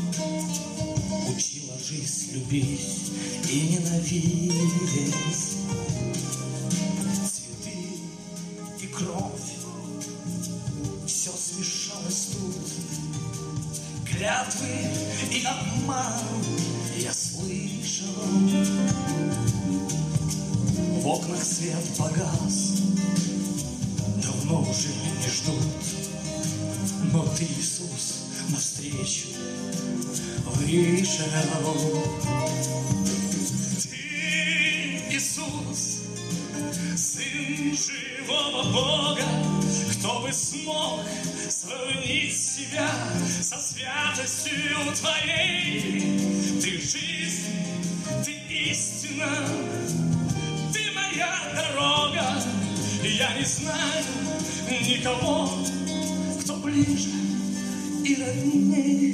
учила жизнь любить и ненавидеть. Цветы и кровь, все смешалось тут. Клятвы и обман я слышал. В окнах свет погас, давно уже не ждут. Но Ты, Иисус, навстречу вышел. Ты, Иисус, Сын живого Бога, кто бы смог сравнить себя со святостью Твоей? Ты жизнь, Ты истина, Ты моя дорога. Я не знаю никого, кто ближе и роднее.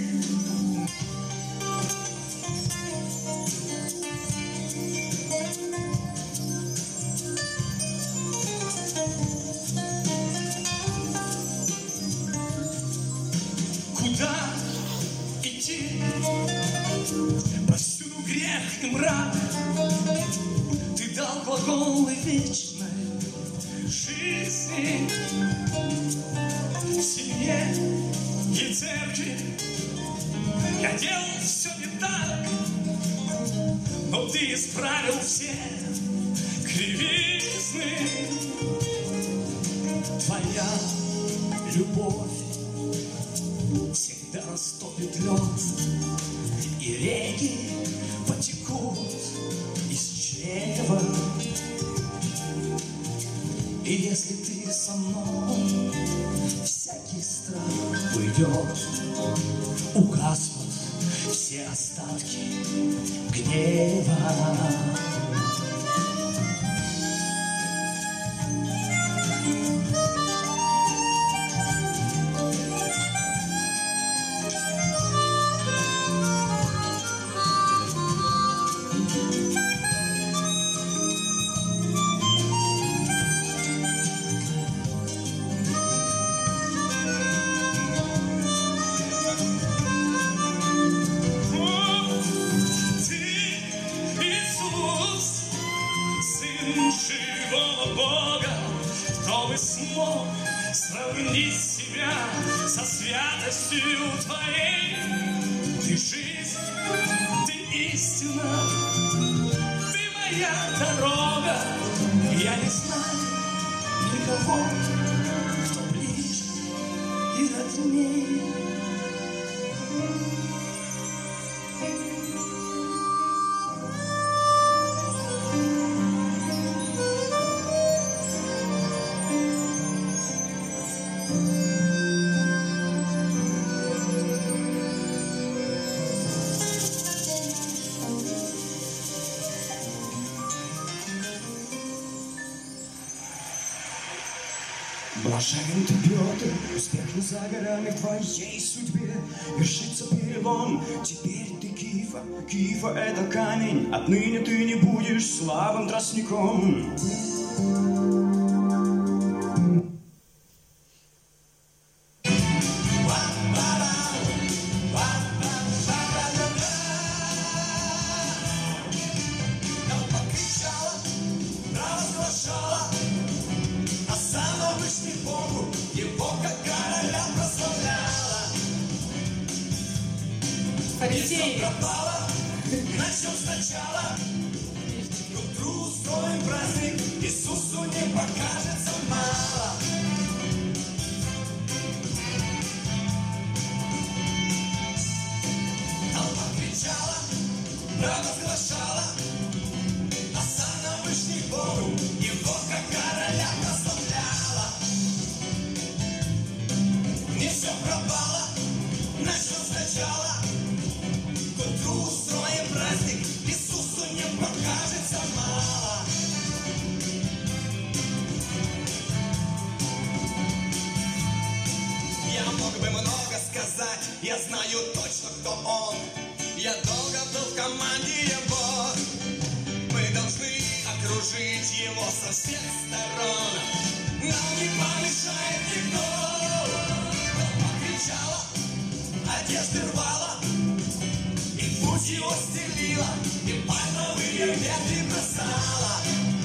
Куда идти? Повсюду грех и мрак. Ты дал глаголы вечной жизни в семье и церкви. Я делал все не так, но Ты исправил все кривизны. Твоя любовь всегда растопит лед, и реки потекут из чрева. И если Ты со мной, всякий страх уйдет, угаснут все остатки гнева. Смог сравнить себя со святостью Твоей. Ты жизнь, Ты истина, Ты моя дорога. Я не знаю никого, кто ближе и роднее. Блажен ты, Петр, успех не за горами в твоей судьбе. Вершится перелом, теперь ты Кифа. Кифа — это камень, отныне ты не будешь слабым тростником. Фарисеи. Начнем сначала. К утру устроим праздник, Иисусу не покажется мало. Толпа кричала, провозглашала, а сам Вышний Богу его как короля прославляла. Не все пропало, начнем сначала. К утру устроим праздник, Иисусу не покажется мало. Я мог бы много сказать, я знаю точно, кто он. Я долго был в команде его. Мы должны окружить его со всех сторон. Нам не помешает никто. Толпа кричала, одежды рвала, путь его стелила, и пальмовые ветви бросала.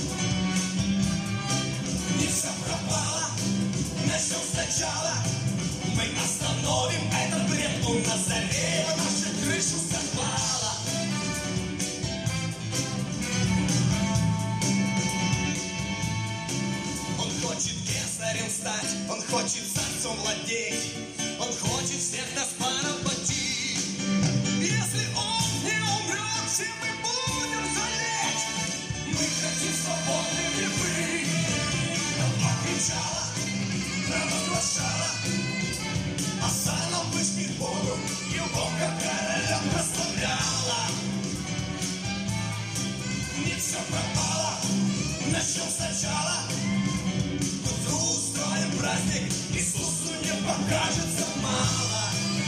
Не все пропало, начнем сначала. Мы остановим этот бред, у Назарея наша крышу сорвала. Он хочет кесарем стать, он хочет царством владеть, он хочет всех нас поработить. Если он не умрет, все мы будем жалеть. Мы хотим свободными быть. Толпа кричала, провозглашала, а сам Вышний Богу его как короля прославляла. Не все пропало, начнем сначала. К утру устроим праздник, Иисусу не покажется мало.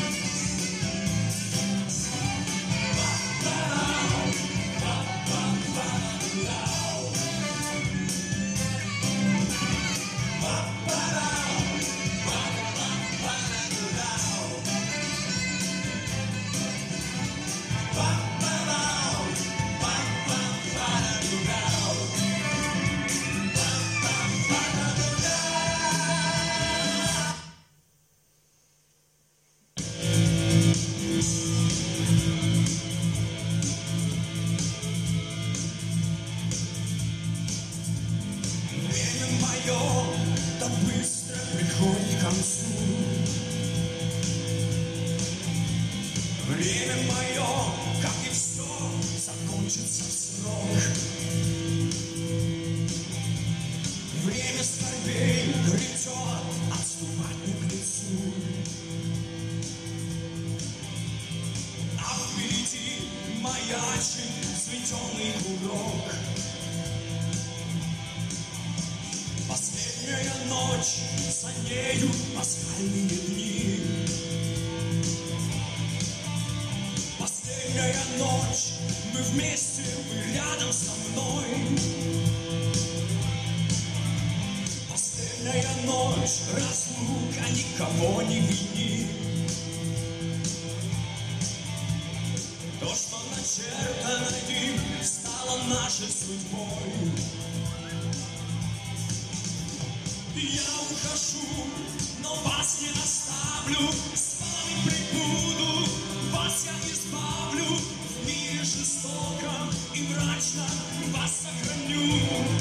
Время мое, как и все, закончится в срок. Время скорбей грядет, отступать не к лицу. А впереди маячит светенный курок. Последняя ночь, за нею пасхальные дни. Последняя ночь, мы вместе, вы рядом со мной. Последняя ночь, разлука никого не винит. То, что начертано им, стало нашей судьбой. Я ухожу, но вас не оставлю, с вами прибуду, вас я избавлю, в мире жестоком и мрачном вас сохраню.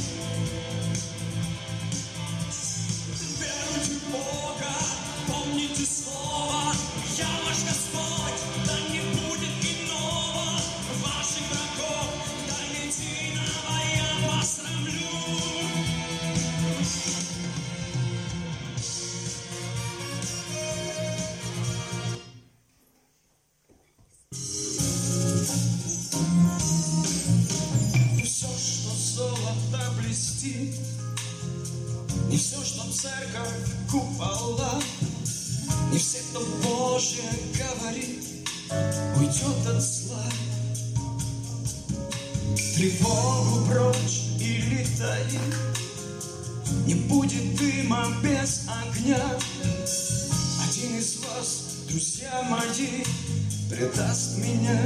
Веруйте в Бога, помните слово, я ваш Господь, да не будет иного, ваших врагов, да единого я посрамлю. Не все, что церковь, купола. Не все, кто Божье говорит, уйдет от зла. Тревогу прочь и летает, не будет дыма без огня. Один из вас, друзья мои, предаст меня.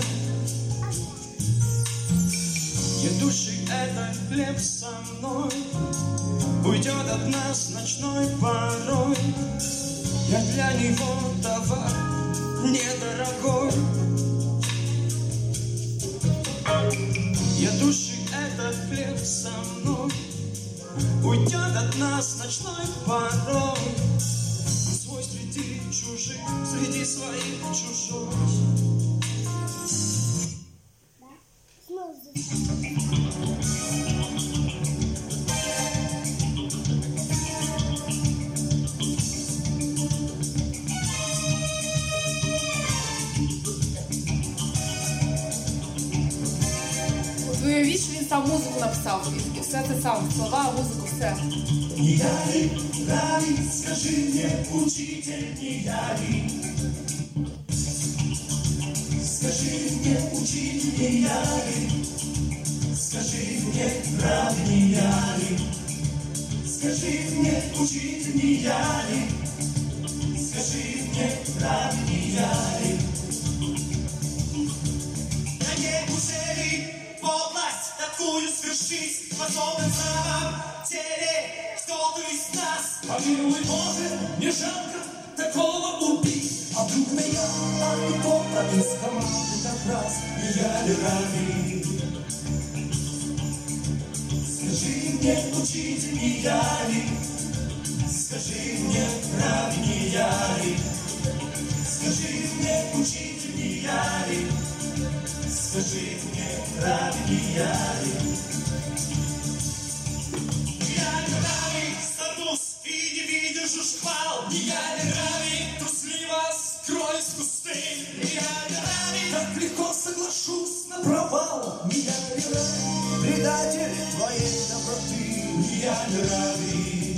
Едущий этот хлеб со мной уйдет от нас ночной порой. Я для него товар недорогой. Едущий этот хлеб со мной уйдет от нас ночной порой. Он свой среди чужих, среди своих чужой. Уявіть, що він сам музику написав, і все це сам, слова, музику, все. Не я ли, Рави, скажи мне, учитель, не я ли? Скажи мне, учитель, не я ли? Скажи мне, Рави, не я ли? Скажи мне, учитель, не я ли? Скажи мне, Рави, не я ли? На ней узели подлость такую свершить, способен в самом теле кто-то из нас. Помилуй, Боже, не жалко такого убить. А вдруг меня, а не кто-то из команды как раз не я ли Рави? Скажи мне, учитель, не я ли? Скажи мне, Рави, не я ли? Скажи мне, учитель, не я ли? Скажи мне, Рави, не я ли? Я ли Рави, столкнусь и не видишь уж хвал. Не я ли Рави, трусливо скроюсь в кусты. Не я ли Рави, так легко соглашусь на провал. Не я ли Рави, предатель твоей доброты. Не я ли Рави?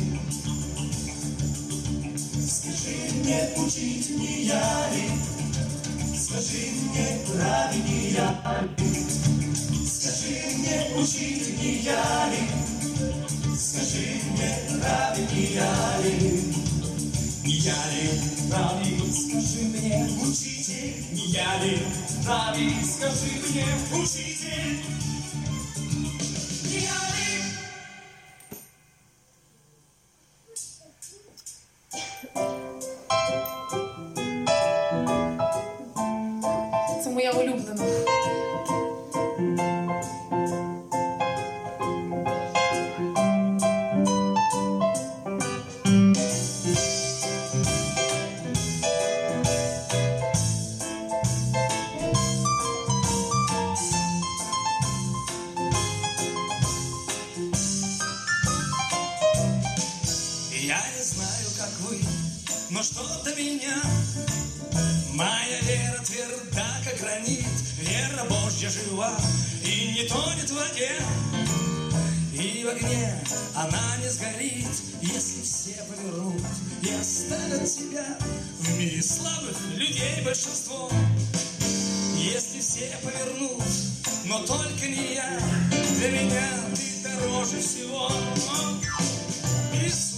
Скажи мне, учитель, не я ли? Скажи мне, Рави, не я ли? Скажи мне, учитель, не я ли? Скажи мне, Рави, не я ли? Не я ли, Рави, скажи мне, учитель, не я ли? Рави, скажи мне, учитель, не я ли? Це моя улюблена. Я не знаю, как вы, но что-то меня, моя вера тверда, как гранит, вера Божья жива и не тонет в воде, и в огне она не сгорит, если все повернут и оставят тебя в мире слабых людей большинство. Если все повернут, но только не я, для меня ты дороже всего. Иисус.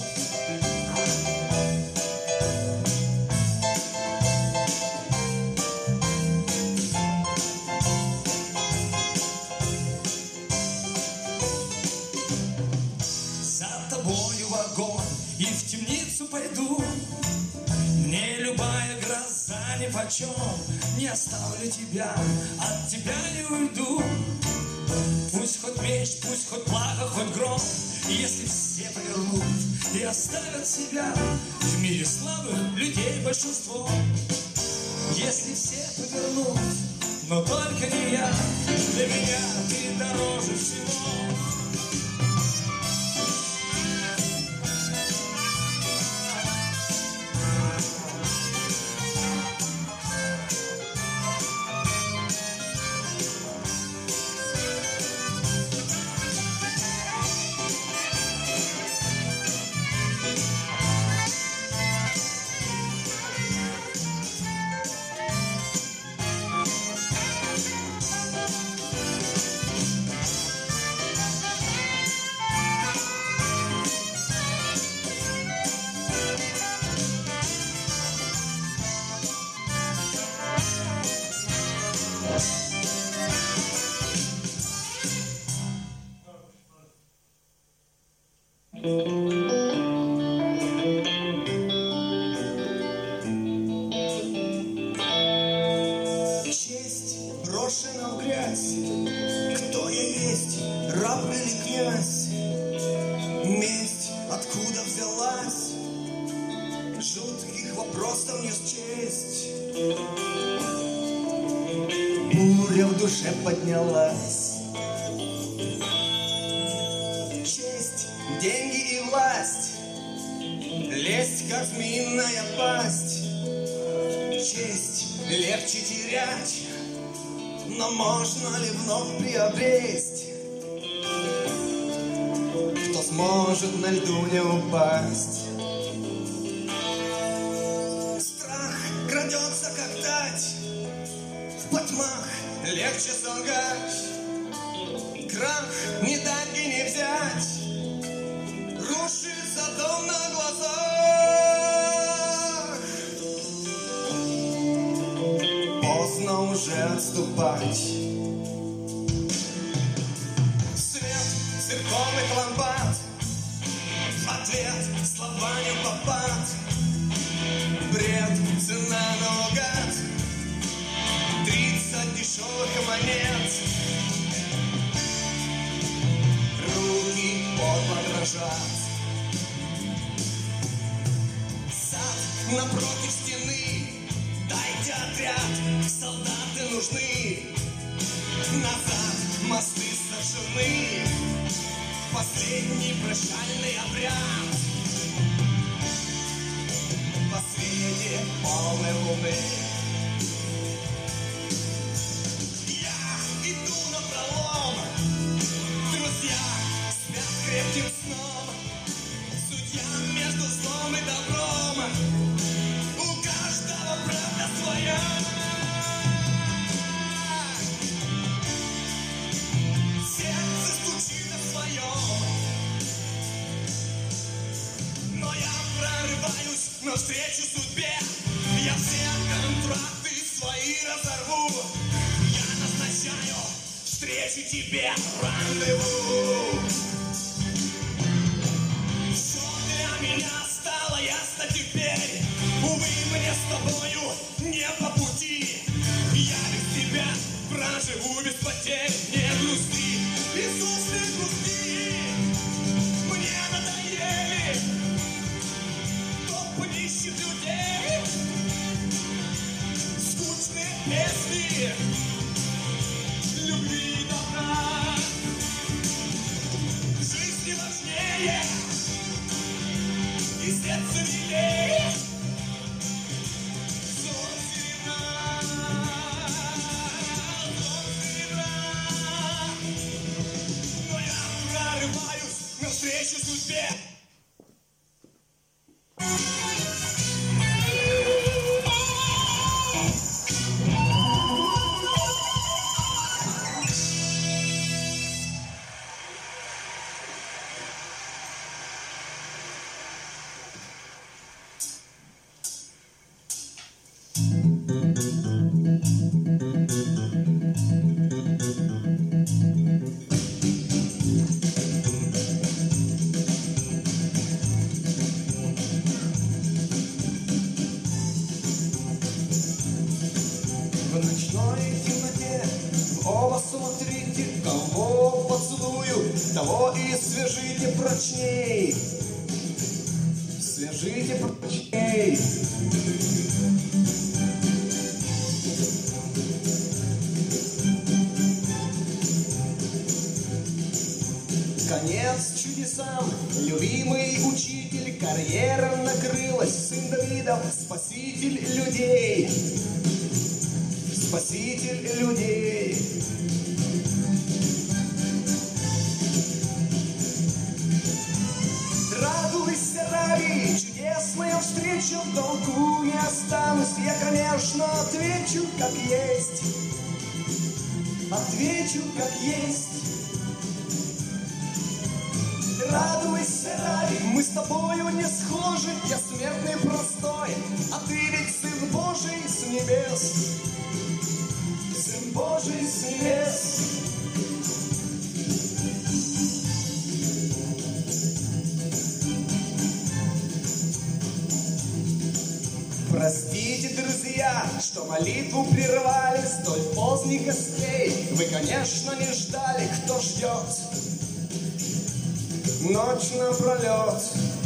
За тобою в огонь и в темницу пойду. Мне любая гроза нипочем, не оставлю тебя, от тебя не уйду. Пусть хоть меч, пусть хоть плаха, хоть гром, если все повернут и оставят себя в мире слабых людей большинство. Если все повернут, но только не я, для меня ты дороже всего. Честь брошена в грязь. Кто я есть, раб или князь? Месть откуда взялась? Жутких вопросов не счесть. Буря в душе поднялась. Честь, деньги и власть. Лезть, как змеиная пасть. Честь легче терять, но можно ли вновь приобресть? Кто сможет на льду не упасть? Страх крадется, как тать. В потьмах легче солгать. Крах не дать и не взять. Рушится дом на глазах. Поздно уже отступать. Свет церковных лампад. Ответ слова не попад. Бред, цена наугад. Тридцать дешевых монет. Руки подло дрожат. Сад напротив стены. Дайте отряд, солдаты нужны. Назад мосты сожжены. Последний прощальный обряд. По свете полной луны. Я иду напролом. Друзья спят крепким сном. Судья между злом и добром. У каждого правда своя. Сердце стучит о своем. Но я прорываюсь навстречу судьбе. Я все контракты свои разорву. Я назначаю встречу тебе, рандеву. Все для меня стало ясно теперь. Увы, мне с тобою не по пути. Я без тебя проживу без потерь. Не грусти, Иисус, не грусти. Мне надоели толпы нищих людей. Скучные песни любви и добра. Жизнь важнее и сердце милее. Золото серебра, золото серебра. Но я прорываюсь навстречу судьбе. В ночной темноте в оба смотрите, кого поцелую, того и свяжите прочней. Свяжите прочней. Конец чудесам, любимый учитель, карьера накрылась, сын Давидов, спаситель людей. Спаситель людей. Радуйся, ради, чудесная встреча, в долгу не останусь. Я, конечно, отвечу, как есть. Отвечу, как есть. Радуйся, ради, мы с тобою не схожи. Я смертный простой, а ты ведь Сын Божий с небес. Сын Божий с небес. друзья, что молитву прервали столь поздних гостей. Вы, конечно, не ждали, кто ждет ночь напролет.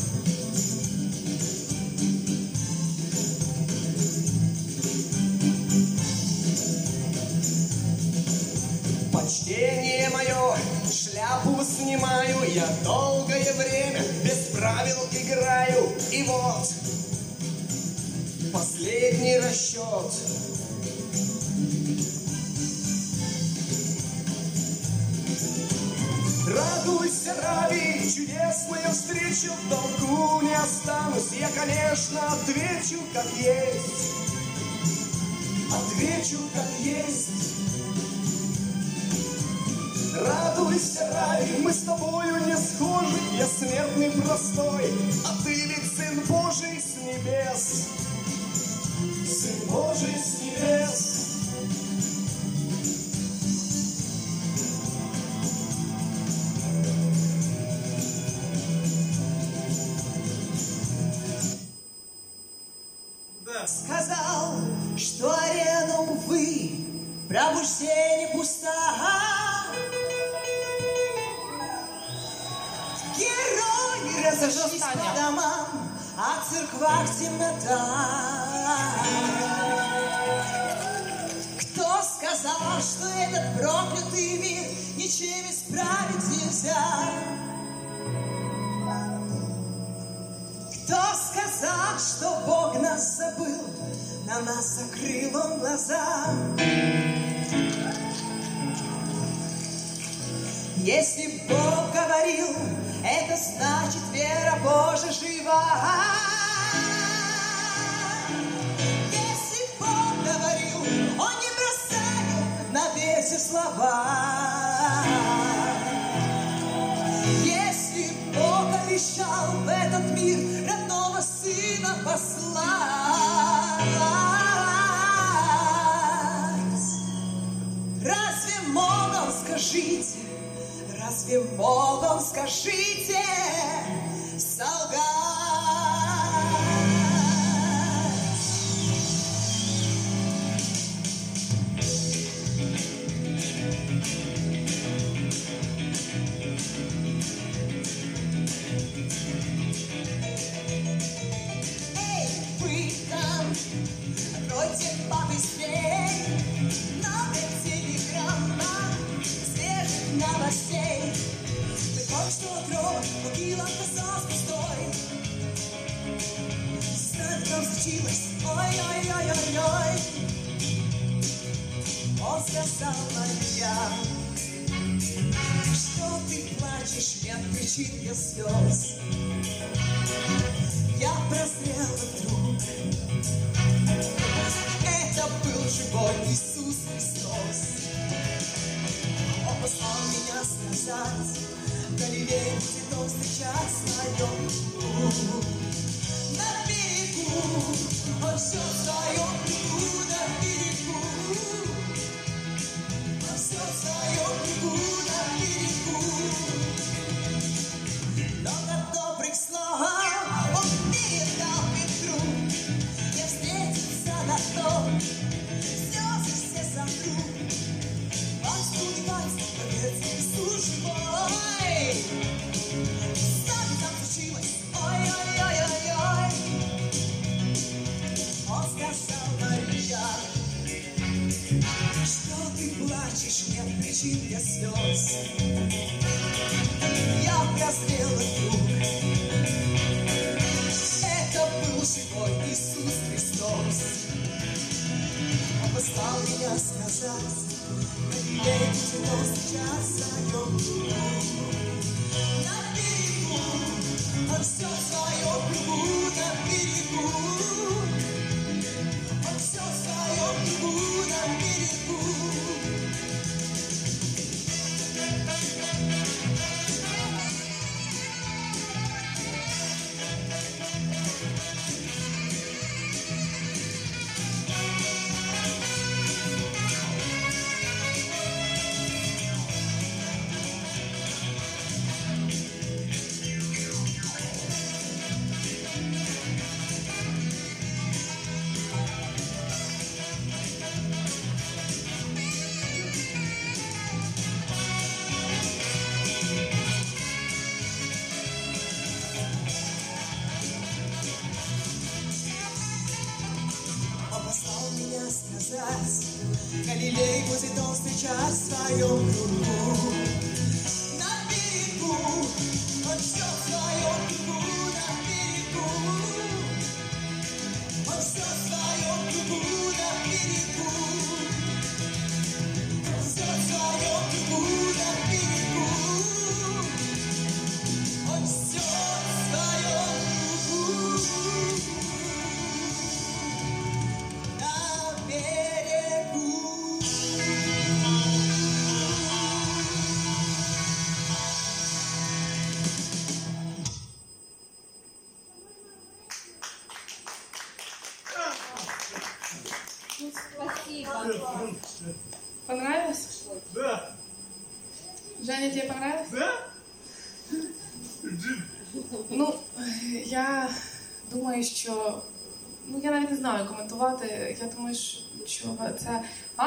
Почтение мое, шляпу снимаю, я долгое время без правил играю. И вот последний расчет. Радуйся, ради чудесную встречу, в долгу не останусь. Я, конечно, отвечу, как есть. Отвечу, как есть. Радуйся, рай, мы с тобою не схожи. Я смертный простой, а ты ведь сын Божий с небес. Сын Божий с небес. Сказал, что арена, увы, пробуждение пуста. Герои разошлись по домам, а в церквах темнота. Кто сказал, что этот проклятый мир ничем исправить нельзя? Кто сказал, что Бог нас забыл, на нас закрыл Он глаза? Если Бог говорил, это значит, вера Божия жива. Если Бог говорил, Он не бросает на ветер слова. Если Бог обещал в этот мир родного Сына послать, разве мог Он, скажите, разве мог Он, скажите, солгать? Эй, вы там, откройте побыстрей новый телеграмма свежих новостей. Ты только что гроб могила оказалась пустой. Знать там случилось, ой-ой-ой-ой-ой. Он сказал, Мария, что ты плачешь, нет причин для слез. Я прозрела вдруг, это был живой Иисус Христос. Он послал меня сказать, в Галилее будет Он встречать свою душу. На берегу, Он все в своем кругу, на берегу. Он все в своем кругу, на берегу. Много добрых слов Он передал Петру. Я встретиться на том, слезы все сотру. Он спутывается, поверьте, Иисус живой. Что там случилось? Ой-ой-ой-ой-ой. Он сказал, Мария, что ты плачешь, нет причин для слез. Я прозрела вдруг, это был живой Иисус Христос. Он послал меня сказать, на Галилее будет Он встречать свою душу. На берегу, Он все в своем кругу, на берегу. Он все в своем кругу, на берегу. Галилей будет он встречать в своем кругу. На берегу, он все в своем кругу, на берегу. Он все в своем кругу, на берегу. Он все в своем кругу, на берегу. Он все в своем кругу, на берегу. Спасибо. Понравилось? Да. Женя, тебе понравилось? Да? Ну, я думаю, що... Ну, я навіть не знаю коментувати. Я думаю, що це... А?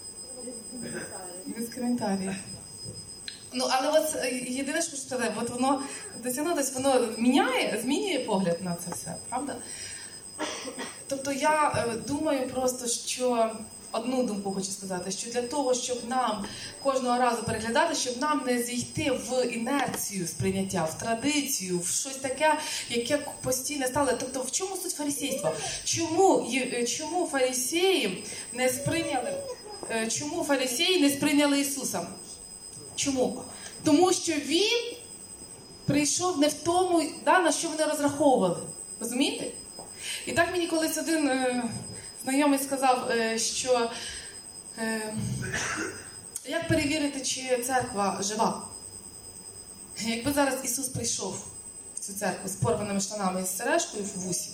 Без коментарів. Ну, але от е, єдине, що хочу сказати, от воно досягнутось, воно міняє, змінює погляд на це все, правда? Тобто я е, думаю просто, що одну думку хочу сказати, що для того, щоб нам кожного разу переглядати, щоб нам не зійти в інерцію сприйняття, в традицію, в щось таке, яке постійно стало. Тобто в чому суть фарисейства? Чому, є- чому фарисеї не сприйняли, е, чому фарисеї не сприйняли Ісуса? Чому? Тому що Він прийшов не в тому, да, на що вони розраховували. Розумієте? І так мені колись один е, знайомий сказав, е, що е, як перевірити, чи церква жива? Якби зараз Ісус прийшов в цю церкву з порваними штанами і з сережкою в вусі,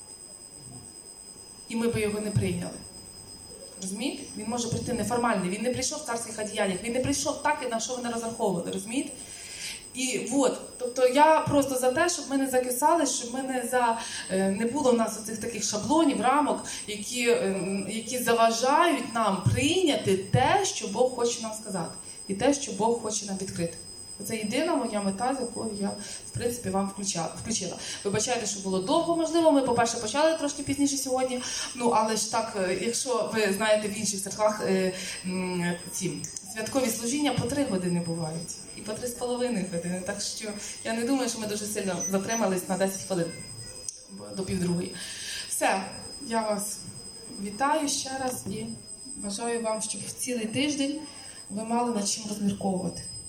і ми би його не прийняли. Розумієте? Він може прийти неформальний, він не прийшов в царських одіяннях, він не прийшов так, на що вони розраховували, розумієте? І от, тобто я просто за те, щоб ми не закисали, щоб ми не за е, не було в нас оцих таких шаблонів, рамок, які, е, які заважають нам прийняти те, що Бог хоче нам сказати, і те, що Бог хоче нам відкрити. Це єдина моя мета, з якою я, в принципі, вам включала. включила. Вибачайте, що було довго, можливо. Ми, по-перше, почали трошки пізніше сьогодні. Ну, але ж так, е, якщо ви знаєте, в інших церквах е, м, ці святкові служіння по три години бувають. І по три з половиною години. Так що я не думаю, що ми дуже сильно затримались на десять хвилин до півдругої. Все, я вас вітаю ще раз і бажаю вам, щоб в цілий тиждень ви мали над чим розмірковувати.